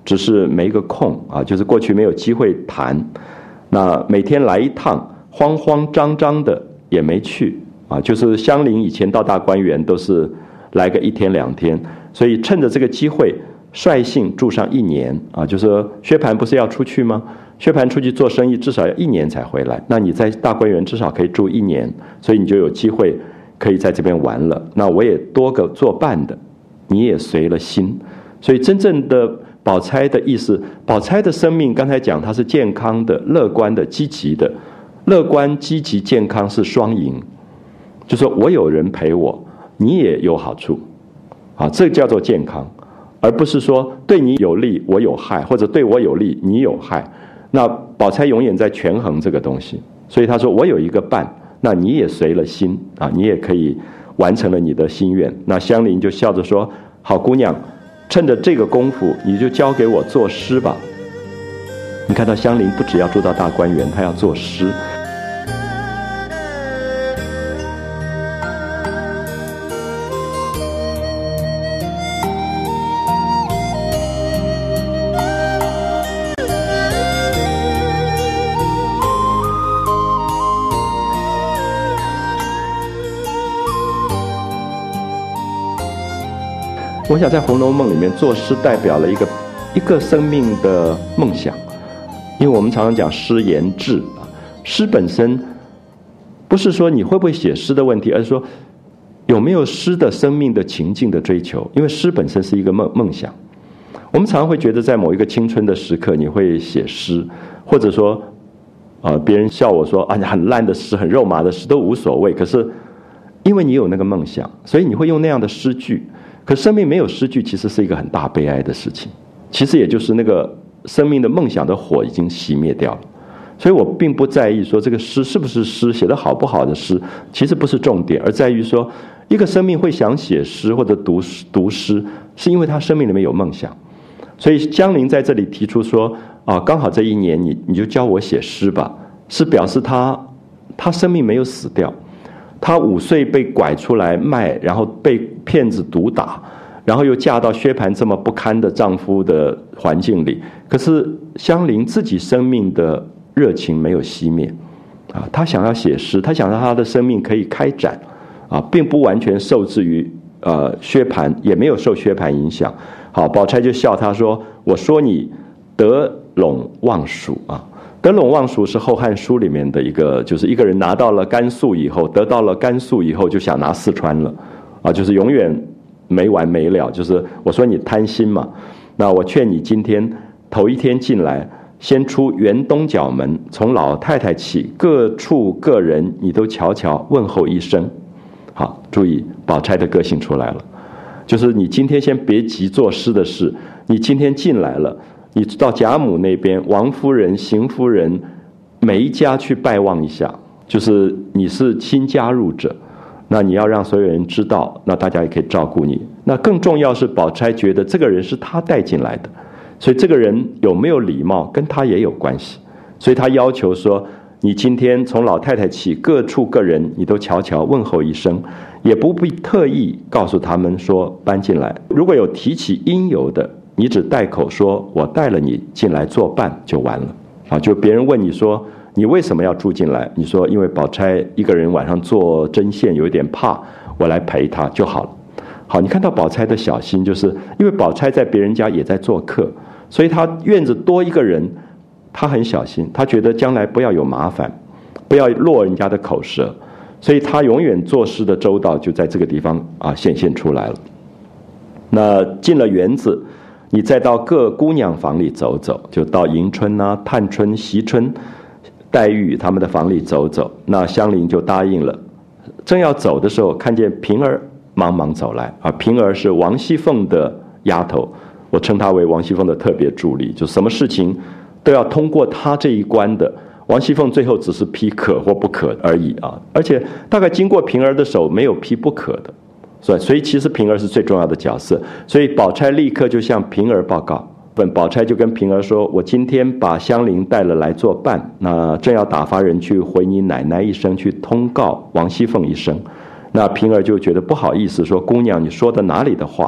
Speaker 1: 只是没个空啊，就是过去没有机会谈。那每天来一趟，慌慌张张的也没去啊。就是香菱以前到大观园都是来个1天2天，所以趁着这个机会，率性住上1年啊。就是说薛蟠不是要出去吗？薛蟠出去做生意至少要1年才回来，那你在大观园至少可以住1年，所以你就有机会可以在这边玩了。那我也多个作伴的，你也随了心。所以真正的宝钗的意思，宝钗的生命刚才讲它是健康的、乐观的、积极的。乐观、积极、健康是双赢，就说我有人陪我，你也有好处啊，这叫做健康，而不是说对你有利我有害，或者对我有利你有害。那宝钗永远在权衡这个东西，所以他说我有一个伴，那你也随了心啊，你也可以完成了你的心愿。那香菱就笑着说，好姑娘，趁着这个功夫你就交给我作诗吧。你看到香菱不只要住到大观园，她要作诗。我想在《红楼梦》里面，作诗代表了一个生命的梦想，因为我们常常讲诗言志啊，诗本身不是说你会不会写诗的问题，而是说有没有诗的生命的情境的追求，因为诗本身是一个梦想。我们常常会觉得在某一个青春的时刻你会写诗，或者说别人笑我说很烂的诗、很肉麻的诗都无所谓，可是因为你有那个梦想，所以你会用那样的诗句。可生命没有诗句其实是一个很大悲哀的事情，其实也就是那个生命的梦想的火已经熄灭掉了。所以我并不在意说这个诗是不是诗，写得好不好的诗其实不是重点，而在于说一个生命会想写诗或者读诗，是因为他生命里面有梦想。所以香菱在这里提出说刚好这1年你就教我写诗吧，是表示他生命没有死掉。她5岁被拐出来卖，然后被骗子毒打，然后又嫁到薛蟠这么不堪的丈夫的环境里，可是香菱自己生命的热情没有熄灭啊，她想要写诗，她想让她的生命可以开展啊，并不完全受制于薛蟠，也没有受薛蟠影响。好，宝钗就笑她说：“我说你得陇望蜀啊。”得陇望蜀是《后汉书》里面的一个，就是一个人拿到了甘肃以后，得到了甘肃以后就想拿四川了，就是永远没完没了。就是我说你贪心嘛，那我劝你今天头1天进来，先出园东角门，从老太太起，各处各人你都瞧瞧问候一声。好，注意宝钗的个性出来了，就是你今天先别急做诗的事，你今天进来了。你到贾母那边，王夫人、邢夫人，每一家去拜望一下，就是你是新加入者，那你要让所有人知道，那大家也可以照顾你。那更重要是宝钗觉得这个人是她带进来的，所以这个人有没有礼貌跟她也有关系，所以她要求说，你今天从老太太起，各处各人你都瞧瞧问候一声，也不必特意告诉他们说搬进来，如果有提起因由的，你只带口说我带了你进来作伴就完了就别人问你说你为什么要住进来，你说因为宝钗一个人晚上做针线有一点怕，我来陪她就好了。好，你看到宝钗的小心，就是因为宝钗在别人家也在做客，所以她院子多一个人，她很小心，她觉得将来不要有麻烦，不要落人家的口舌，所以她永远做事的周到就在这个地方显现出来了。那进了园子，你再到各姑娘房里走走，就到迎春探春、惜春、黛玉他们的房里走走。那香菱就答应了。正要走的时候，看见平儿忙忙走来平儿是王熙凤的丫头，我称她为王熙凤的特别助理，就什么事情都要通过她这一关的。王熙凤最后只是批可或不可而已而且大概经过平儿的手，没有批不可的。所以其实平儿是最重要的角色，所以宝钗立刻就向平儿报告。宝钗就跟平儿说，我今天把香菱带了来作伴，那正要打发人去回你奶奶一声，去通告王熙凤一声。那平儿就觉得不好意思，说姑娘你说的哪里的话，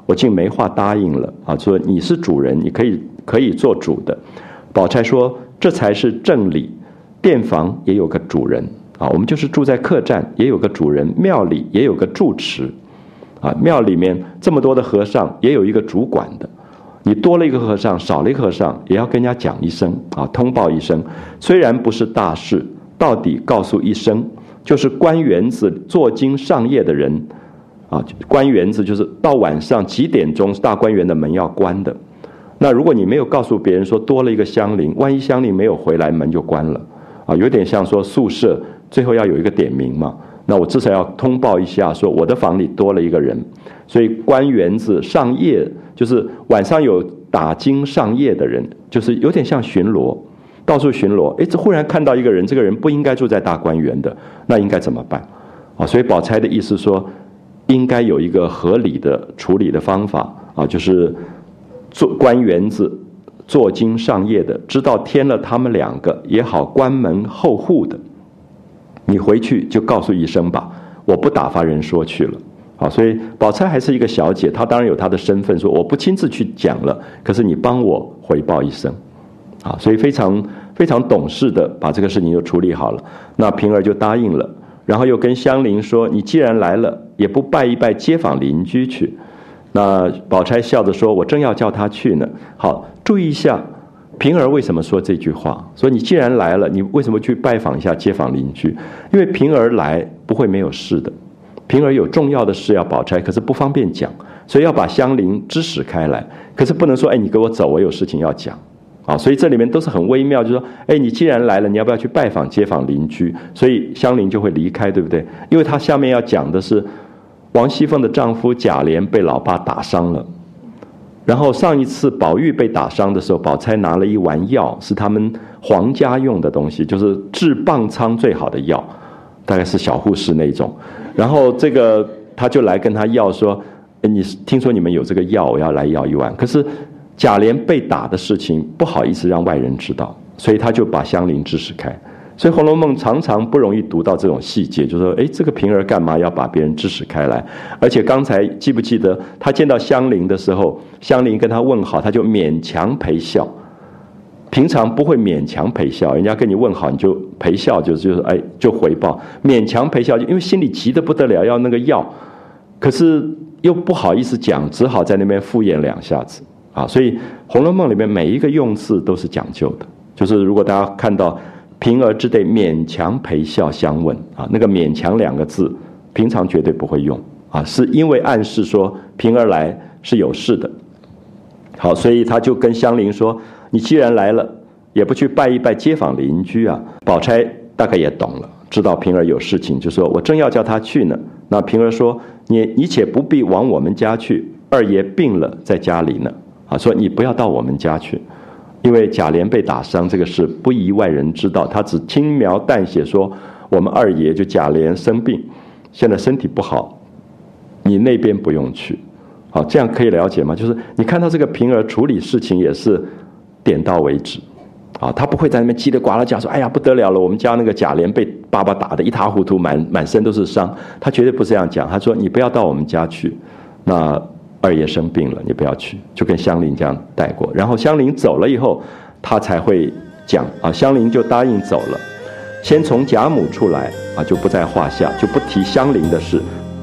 Speaker 1: 我竟没话答应了啊！说你是主人，你可以做主的。宝钗说：“这才是正理，店房也有个主人啊，我们就是住在客栈，也有个主人；庙里也有个住持啊，庙里面这么多的和尚，也有一个主管的。你多了一个和尚，少了一个和尚，也要跟人家讲一声啊，通报一声。虽然不是大事，到底告诉一声，就是关园子做经上夜的人。”啊，关园子就是到晚上几点钟，大观园的门要关的。那如果你没有告诉别人说多了一个香菱，万一香菱没有回来，门就关了。啊，有点像说宿舍最后要有一个点名嘛。那我至少要通报一下，说我的房里多了一个人。所以关园子上夜，就是晚上有打经上夜的人，就是有点像巡逻，到处巡逻。这忽然看到一个人，这个人不应该住在大观园的，那应该怎么办？啊，所以宝钗的意思说，应该有一个合理的处理的方法啊，就是关园子做经上夜的，知道添了他们两个也好关门候户的，你回去就告诉一声吧，我不打发人说去了。好，所以宝钗还是一个小姐，她当然有她的身份，说我不亲自去讲了，可是你帮我回报一声。啊，所以非常非常懂事的把这个事情就处理好了。那平儿就答应了，然后又跟香菱说，你既然来了，也不拜一拜街坊邻居去。那宝钗笑着说，我正要叫他去呢。好，注意一下平儿为什么说这句话，说你既然来了，你为什么去拜访一下街坊邻居？因为平儿来不会没有事的，平儿有重要的事要宝钗，可是不方便讲，所以要把香菱支使开来，可是不能说你给我走，我有事情要讲啊。所以这里面都是很微妙，就是说你既然来了，你要不要去拜访街坊邻居？所以香菱就会离开，对不对？因为她下面要讲的是王熙凤的丈夫贾琏被老爸打伤了，然后上一次宝玉被打伤的时候，宝钗拿了一丸药，是他们皇家用的东西，就是治棒疮最好的药，大概是小护士那种。然后这个他就来跟他要说，你听说你们有这个药，我要来要一丸。可是贾琏被打的事情不好意思让外人知道，所以他就把香菱支使开。所以《红楼梦》常常不容易读到这种细节，就是说这个平儿干嘛要把别人支使开来？而且刚才记不记得他见到香菱的时候，香菱跟他问好，他就勉强陪笑。平常不会勉强陪笑，人家跟你问好你就陪笑，就回报，勉强陪笑，因为心里急得不得了，要那个药，可是又不好意思讲，只好在那边敷衍两下子啊。所以《红楼梦》里面每一个用字都是讲究的，就是如果大家看到平儿之对勉强陪笑相问啊，那个勉强两个字平常绝对不会用啊，是因为暗示说平儿来是有事的。好，所以他就跟香菱说，你既然来了，也不去拜一拜街坊邻居啊。宝钗大概也懂了，知道平儿有事情，就说我正要叫他去呢。那平儿说，你且不必往我们家去，二爷病了在家里呢啊，说你不要到我们家去，因为贾琏被打伤这个事不宜外人知道，他只轻描淡写说我们二爷就贾琏生病，现在身体不好，你那边不用去。好，这样可以了解吗？就是你看到这个平儿处理事情也是点到为止啊，他不会在那边叽里呱啦讲说哎呀不得了了，我们家那个贾琏被爸爸打得一塌糊涂，满身都是伤，他绝对不是这样讲。他说你不要到我们家去，那二爷生病了，你不要去，就跟香菱这样带过。然后香菱走了以后，他才会讲啊，香菱就答应走了。先从贾母出来啊，就不在话下，就不提香菱的事。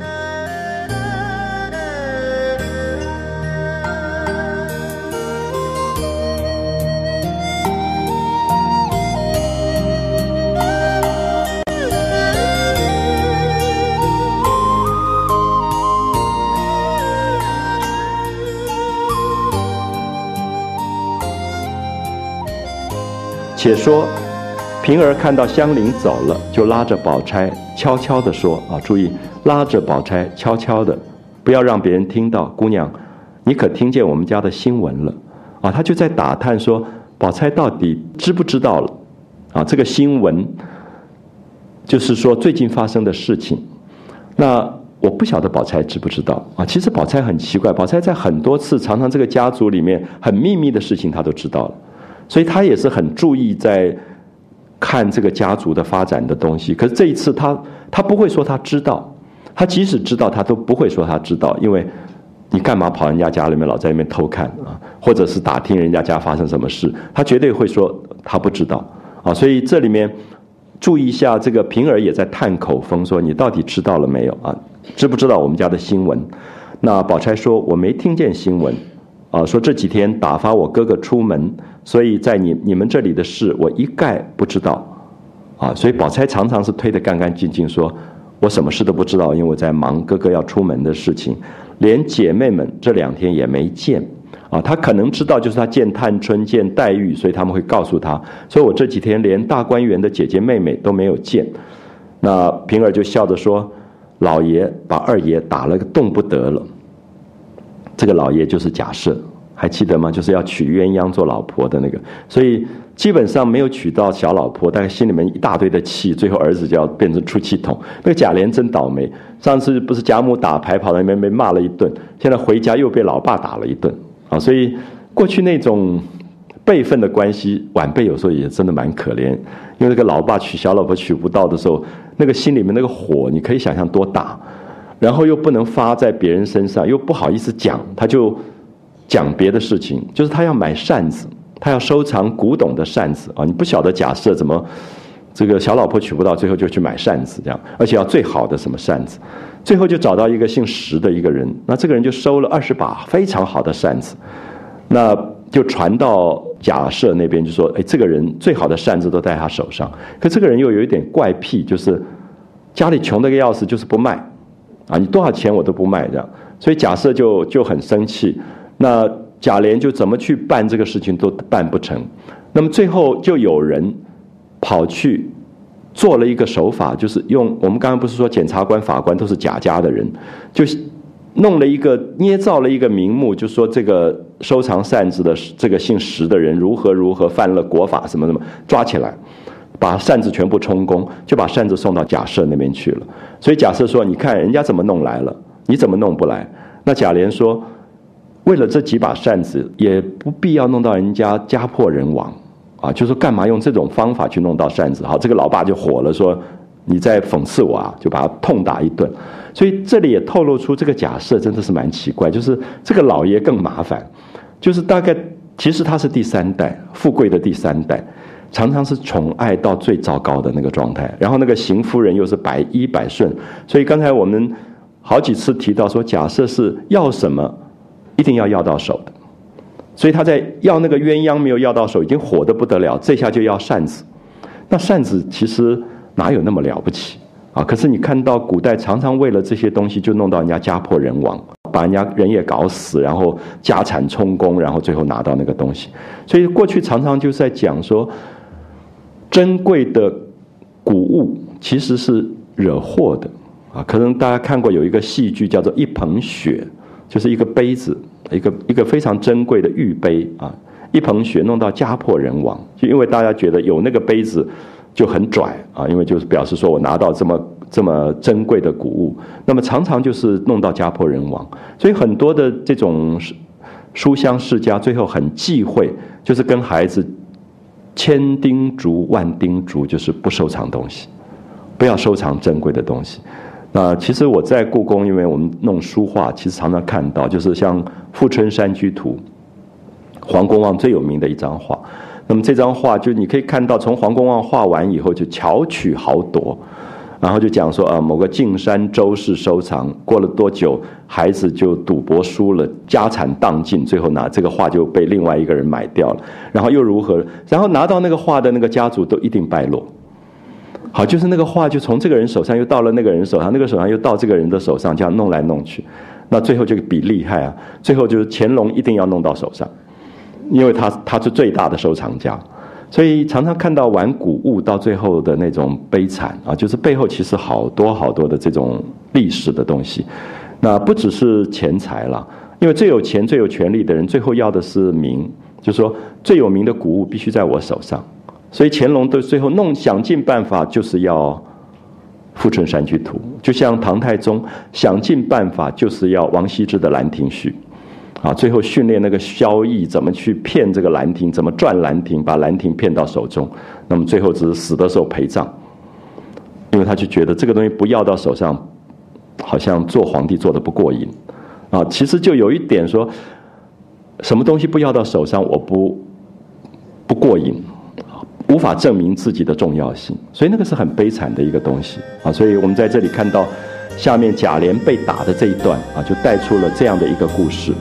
Speaker 1: 且说平儿看到香菱走了，就拉着宝钗悄悄地说啊，注意拉着宝钗悄悄的，不要让别人听到。姑娘，你可听见我们家的新闻了啊？他就在打探说宝钗到底知不知道了啊？这个新闻就是说最近发生的事情。那我不晓得宝钗知不知道啊？其实宝钗很奇怪，宝钗在很多次常常这个家族里面很秘密的事情她都知道了。所以他也是很注意在看这个家族的发展的东西，可是这一次他不会说他知道，他即使知道他都不会说他知道，因为你干嘛跑人家家里面老在那边偷看啊？或者是打听人家家发生什么事？他绝对会说他不知道啊。所以这里面注意一下，这个平儿也在探口风，说你到底知道了没有啊？知不知道我们家的新闻？那宝钗说我没听见新闻啊，说这几天打发我哥哥出门，所以在你们这里的事我一概不知道啊。所以宝钗常常是推得干干净净，说我什么事都不知道，因为我在忙哥哥要出门的事情，连姐妹们这2天也没见啊。她可能知道，就是她见探春、见黛玉，所以他们会告诉她，所以我这几天连大观园的姐姐妹妹都没有见。那平儿就笑着说，老爷把二爷打了个动不得了。这个老爷就是贾赦，还记得吗？就是要娶鸳鸯做老婆的那个，所以基本上没有娶到小老婆，但心里面一大堆的气，最后儿子就要变成出气筒。那个贾琏真倒霉，上次不是贾母打牌跑到那边被骂了一顿，现在回家又被老爸打了一顿啊！所以过去那种辈分的关系，晚辈有时候也真的蛮可怜，因为那个老爸娶小老婆娶不到的时候，那个心里面那个火，你可以想象多大，然后又不能发在别人身上，又不好意思讲，他就讲别的事情，就是他要买扇子，他要收藏古董的扇子啊！你不晓得假设怎么这个小老婆娶不到，最后就去买扇子这样，而且要最好的什么扇子，最后就找到一个姓石的一个人，那这个人就收了20把非常好的扇子，那就传到贾赦那边，就说：哎，这个人最好的扇子都在他手上。可这个人又有一点怪癖，就是家里穷得个要死，就是不卖啊！你多少钱我都不卖这样。所以贾赦就很生气。那贾琏就怎么去办这个事情都办不成。那么最后就有人跑去做了一个手法，就是用我们刚刚不是说检察官、法官都是贾家的人，就弄了一个捏造了一个名目，就说这个收藏扇子的这个姓石的人如何如何犯了国法什么什么，抓起来，把扇子全部充公，就把扇子送到贾赦那边去了。所以贾赦说：“你看人家怎么弄来了，你怎么弄不来？”那贾琏说：“为了这几把扇子，也不必要弄到人家家破人亡啊！就说干嘛用这种方法去弄到扇子？好，这个老爸就火了，说你在讽刺我啊，就把他痛打一顿。所以这里也透露出这个假设真的是蛮奇怪，就是这个老爷更麻烦，就是大概其实他是第3代，富贵的第3代，常常是宠爱到最糟糕的那个状态，然后那个邢夫人又是百依百顺，所以刚才我们好几次提到说，假设是要什么一定要要到手的，所以他在要那个鸳鸯没有要到手，已经火得不得了，这下就要扇子。那扇子其实哪有那么了不起啊？可是你看到古代常常为了这些东西就弄到人家家破人亡，把人家人也搞死，然后家产充公，然后最后拿到那个东西。所以过去常常就是在讲说，珍贵的古物其实是惹祸的啊。可能大家看过有一个戏剧叫做《一捧雪》，就是一个杯子，一个非常珍贵的玉杯啊，一捧雪弄到家破人亡，就因为大家觉得有那个杯子就很拽啊，因为就是表示说我拿到这么珍贵的古物，那么常常就是弄到家破人亡。所以很多的这种书香世家最后很忌讳，就是跟孩子千叮嘱万叮嘱，就是不收藏东西，不要收藏珍贵的东西。那其实我在故宫，因为我们弄书画，其实常常看到，就是像《富春山居图》，黄公望最有名的一张画。那么这张画就你可以看到，从黄公望画完以后就巧取豪夺，然后就讲说某个径山周氏收藏，过了多久孩子就赌博输了，家产荡尽，最后拿这个画就被另外一个人买掉了，然后又如何，然后拿到那个画的那个家族都一定败落。好，就是那个画就从这个人手上又到了那个人手上，那个手上又到这个人的手上，这样弄来弄去，那最后就比厉害啊！最后就是乾隆一定要弄到手上，因为他是最大的收藏家，所以常常看到玩古物到最后的那种悲惨啊，就是背后其实好多好多的这种历史的东西。那不只是钱财了，因为最有钱最有权力的人最后要的是名，就是说最有名的古物必须在我手上。所以乾隆的最后想尽办法就是要《富春山居图》，就像唐太宗想尽办法就是要王羲之的《兰亭序》，啊，最后训练那个萧绎怎么去骗这个兰亭，怎么赚兰亭，把兰亭骗到手中，那么最后只是死的时候陪葬，因为他就觉得这个东西不要到手上，好像做皇帝做得不过瘾， 啊，其实就有一点说，什么东西不要到手上，我不过瘾，无法证明自己的重要性，所以那个是很悲惨的一个东西啊。所以我们在这里看到下面贾琏被打的这一段啊，就带出了这样的一个故事。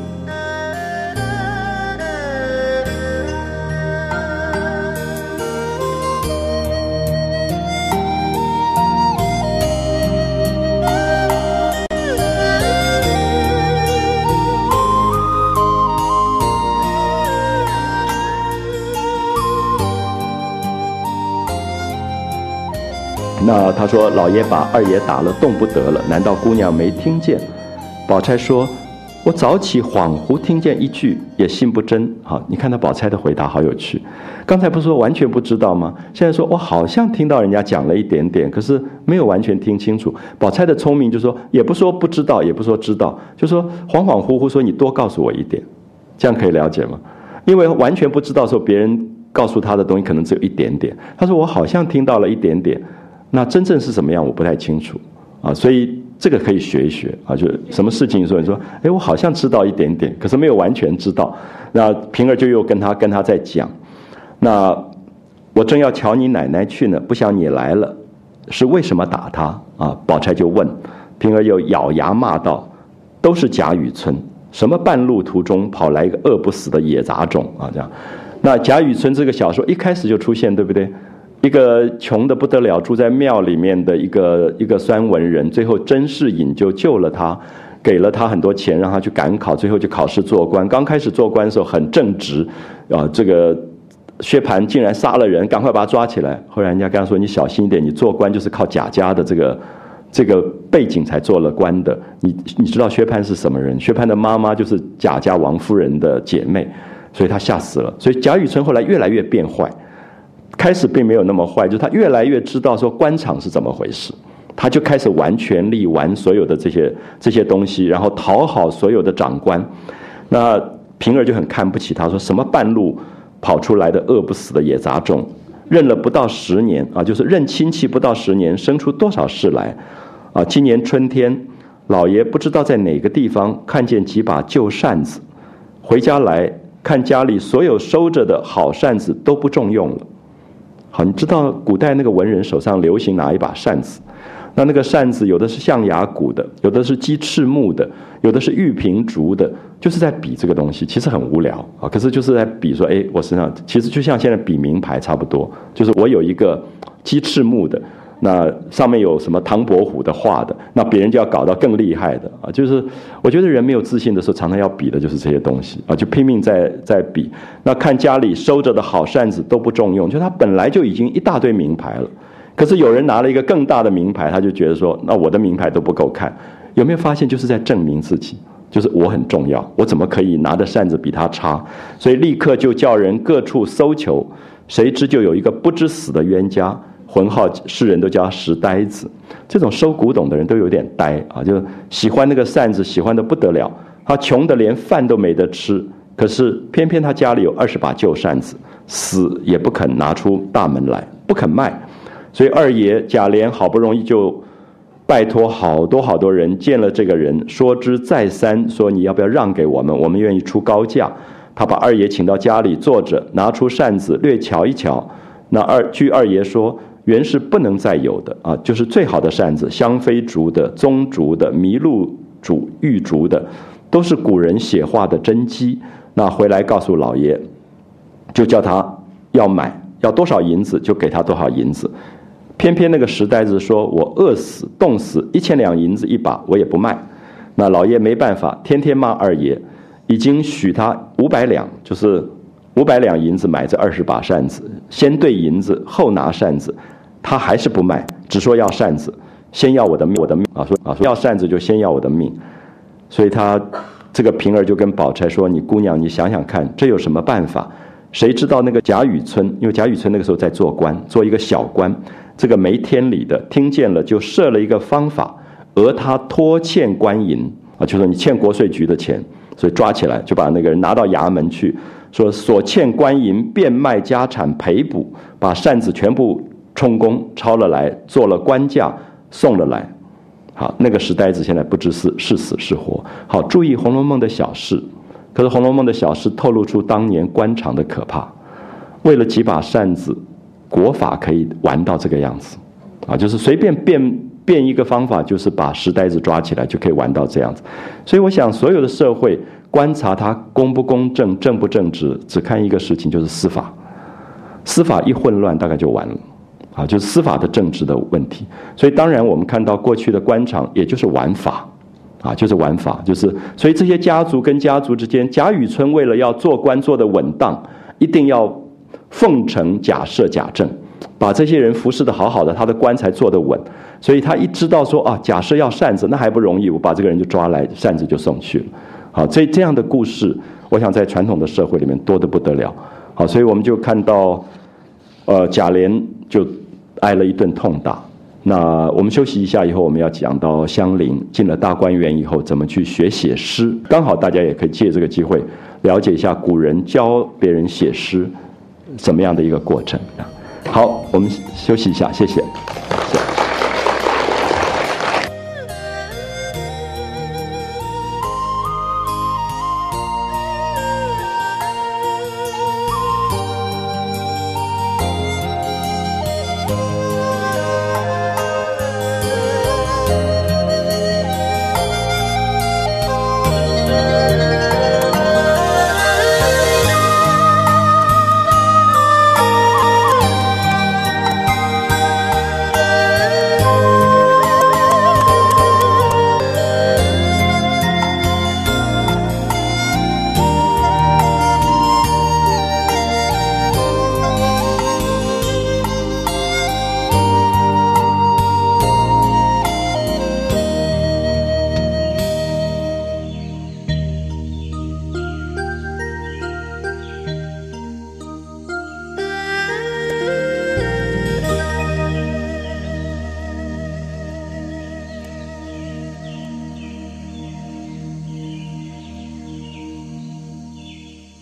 Speaker 1: 那他说老爷把二爷打了，动不得了，难道姑娘没听见？宝钗说，我早起恍惚听见一句，也信不真。好，你看到宝钗的回答好有趣，刚才不是说完全不知道吗？现在说我好像听到人家讲了一点点，可是没有完全听清楚。宝钗的聪明就说，也不说不知道，也不说知道，就说恍恍惚惚，说你多告诉我一点，这样可以了解吗？因为完全不知道的时候，别人告诉他的东西可能只有一点点，他说我好像听到了一点点，那真正是什么样我不太清楚啊，所以这个可以学一学啊，就什么事情说你说，哎，我好像知道一点点，可是没有完全知道。那平儿就又跟他在讲，那我正要瞧你奶奶去呢，不想你来了，是为什么打他啊？宝钗就问，平儿又咬牙骂道，都是贾雨村，什么半路途中跑来一个饿不死的野杂种啊，这样。那贾雨村这个小说一开始就出现，对不对？一个穷得不得了，住在庙里面的一个酸文人，最后甄士隐就救了他，给了他很多钱，让他去赶考，最后就考试做官。刚开始做官的时候很正直，啊，这个薛蟠竟然杀了人，赶快把他抓起来。后来人家跟他说：“你小心一点，你做官就是靠贾家的这个背景才做了官的。你知道薛蟠是什么人？薛蟠的妈妈就是贾家王夫人的姐妹，所以他吓死了。所以贾雨村后来越来越变坏。”开始并没有那么坏，就是他越来越知道说官场是怎么回事，他就开始玩权力，玩所有的这些东西，然后讨好所有的长官。那平儿就很看不起他，说什么半路跑出来的饿不死的野杂种，认了不到10年啊，就是认亲戚不到10年，生出多少事来啊！今年春天，老爷不知道在哪个地方看见几把旧扇子，回家来看家里所有收着的好扇子都不中用了。好，你知道古代那个文人手上流行拿一把扇子，那个扇子有的是象牙骨的，有的是鸡翅木的，有的是玉屏竹的，就是在比这个东西，其实很无聊啊。可是就是在比说，哎，我身上其实就像现在比名牌差不多，就是我有一个鸡翅木的，那上面有什么唐伯虎的画的，那别人就要搞到更厉害的啊。就是我觉得人没有自信的时候，常常要比的就是这些东西啊，就拼命在比。那看家里收着的好扇子都不中用，就他本来就已经一大堆名牌了，可是有人拿了一个更大的名牌，他就觉得说，那我的名牌都不够看。有没有发现就是在证明自己，就是我很重要，我怎么可以拿的扇子比他差？所以立刻就叫人各处搜求，谁知就有一个不知死的冤家，浑号世人都叫他石呆子。这种收古董的人都有点呆啊，就喜欢那个扇子，喜欢的不得了。他穷得连饭都没得吃，可是偏偏他家里有20把旧扇子，死也不肯拿出大门来，不肯卖。所以二爷贾琏好不容易就拜托好多人见了这个人，说之再三，说你要不要让给我们，我们愿意出高价。他把二爷请到家里坐着，拿出扇子略瞧一瞧。那据二爷说，原是不能再有的啊，就是最好的扇子，香妃竹的、棕竹的、麋鹿竹、玉竹的，都是古人写画的真迹。那回来告诉老爷，就叫他要买，要多少银子就给他多少银子。偏偏那个石呆子说，我饿死冻死1000两银子一把我也不卖。那老爷没办法，天天骂二爷，已经许他500两，就是500两银子买这20把扇子，先兑银子后拿扇子，他还是不卖，只说要扇子，先要我的命啊，说要扇子就先要我的命。所以他这个平儿就跟宝钗说，你姑娘你想想看，这有什么办法？谁知道那个贾雨村，因为贾雨村那个时候在做官，做一个小官，这个没天理的听见了，就设了一个方法，讹他拖欠官银啊，就说你欠国税局的钱，所以抓起来就把那个人拿到衙门去，说所欠官银变卖家产赔补，把扇子全部充公抄了来，做了官价送了来。 好，那个石呆子现在不知是死是活。好，注意《红楼梦》的小事，可是《红楼梦》的小事透露出当年官场的可怕。为了几把扇子，国法可以玩到这个样子，啊，就是随便变一个方法，就是把石呆子抓起来就可以玩到这样子。所以我想，所有的社会观察它公不公正、正不正直，只看一个事情，就是司法。司法一混乱，大概就完了。啊，就是司法的政治的问题。所以当然我们看到过去的官场，也就是玩法，啊，就是玩法，所以这些家族跟家族之间，贾雨村为了要做官做得稳当，一定要奉承贾赦、贾政，把这些人服侍得好好的，他的官才做得稳。所以他一知道说啊，贾赦要扇子，那还不容易，我把这个人就抓来，扇子就送去了。好，这样的故事，我想在传统的社会里面多得不得了。好，所以我们就看到，贾琏就挨了一顿痛打。那我们休息一下以后，我们要讲到香菱进了大观园以后怎么去学写诗，刚好大家也可以借这个机会了解一下古人教别人写诗怎么样的一个过程。好，我们休息一下，谢谢。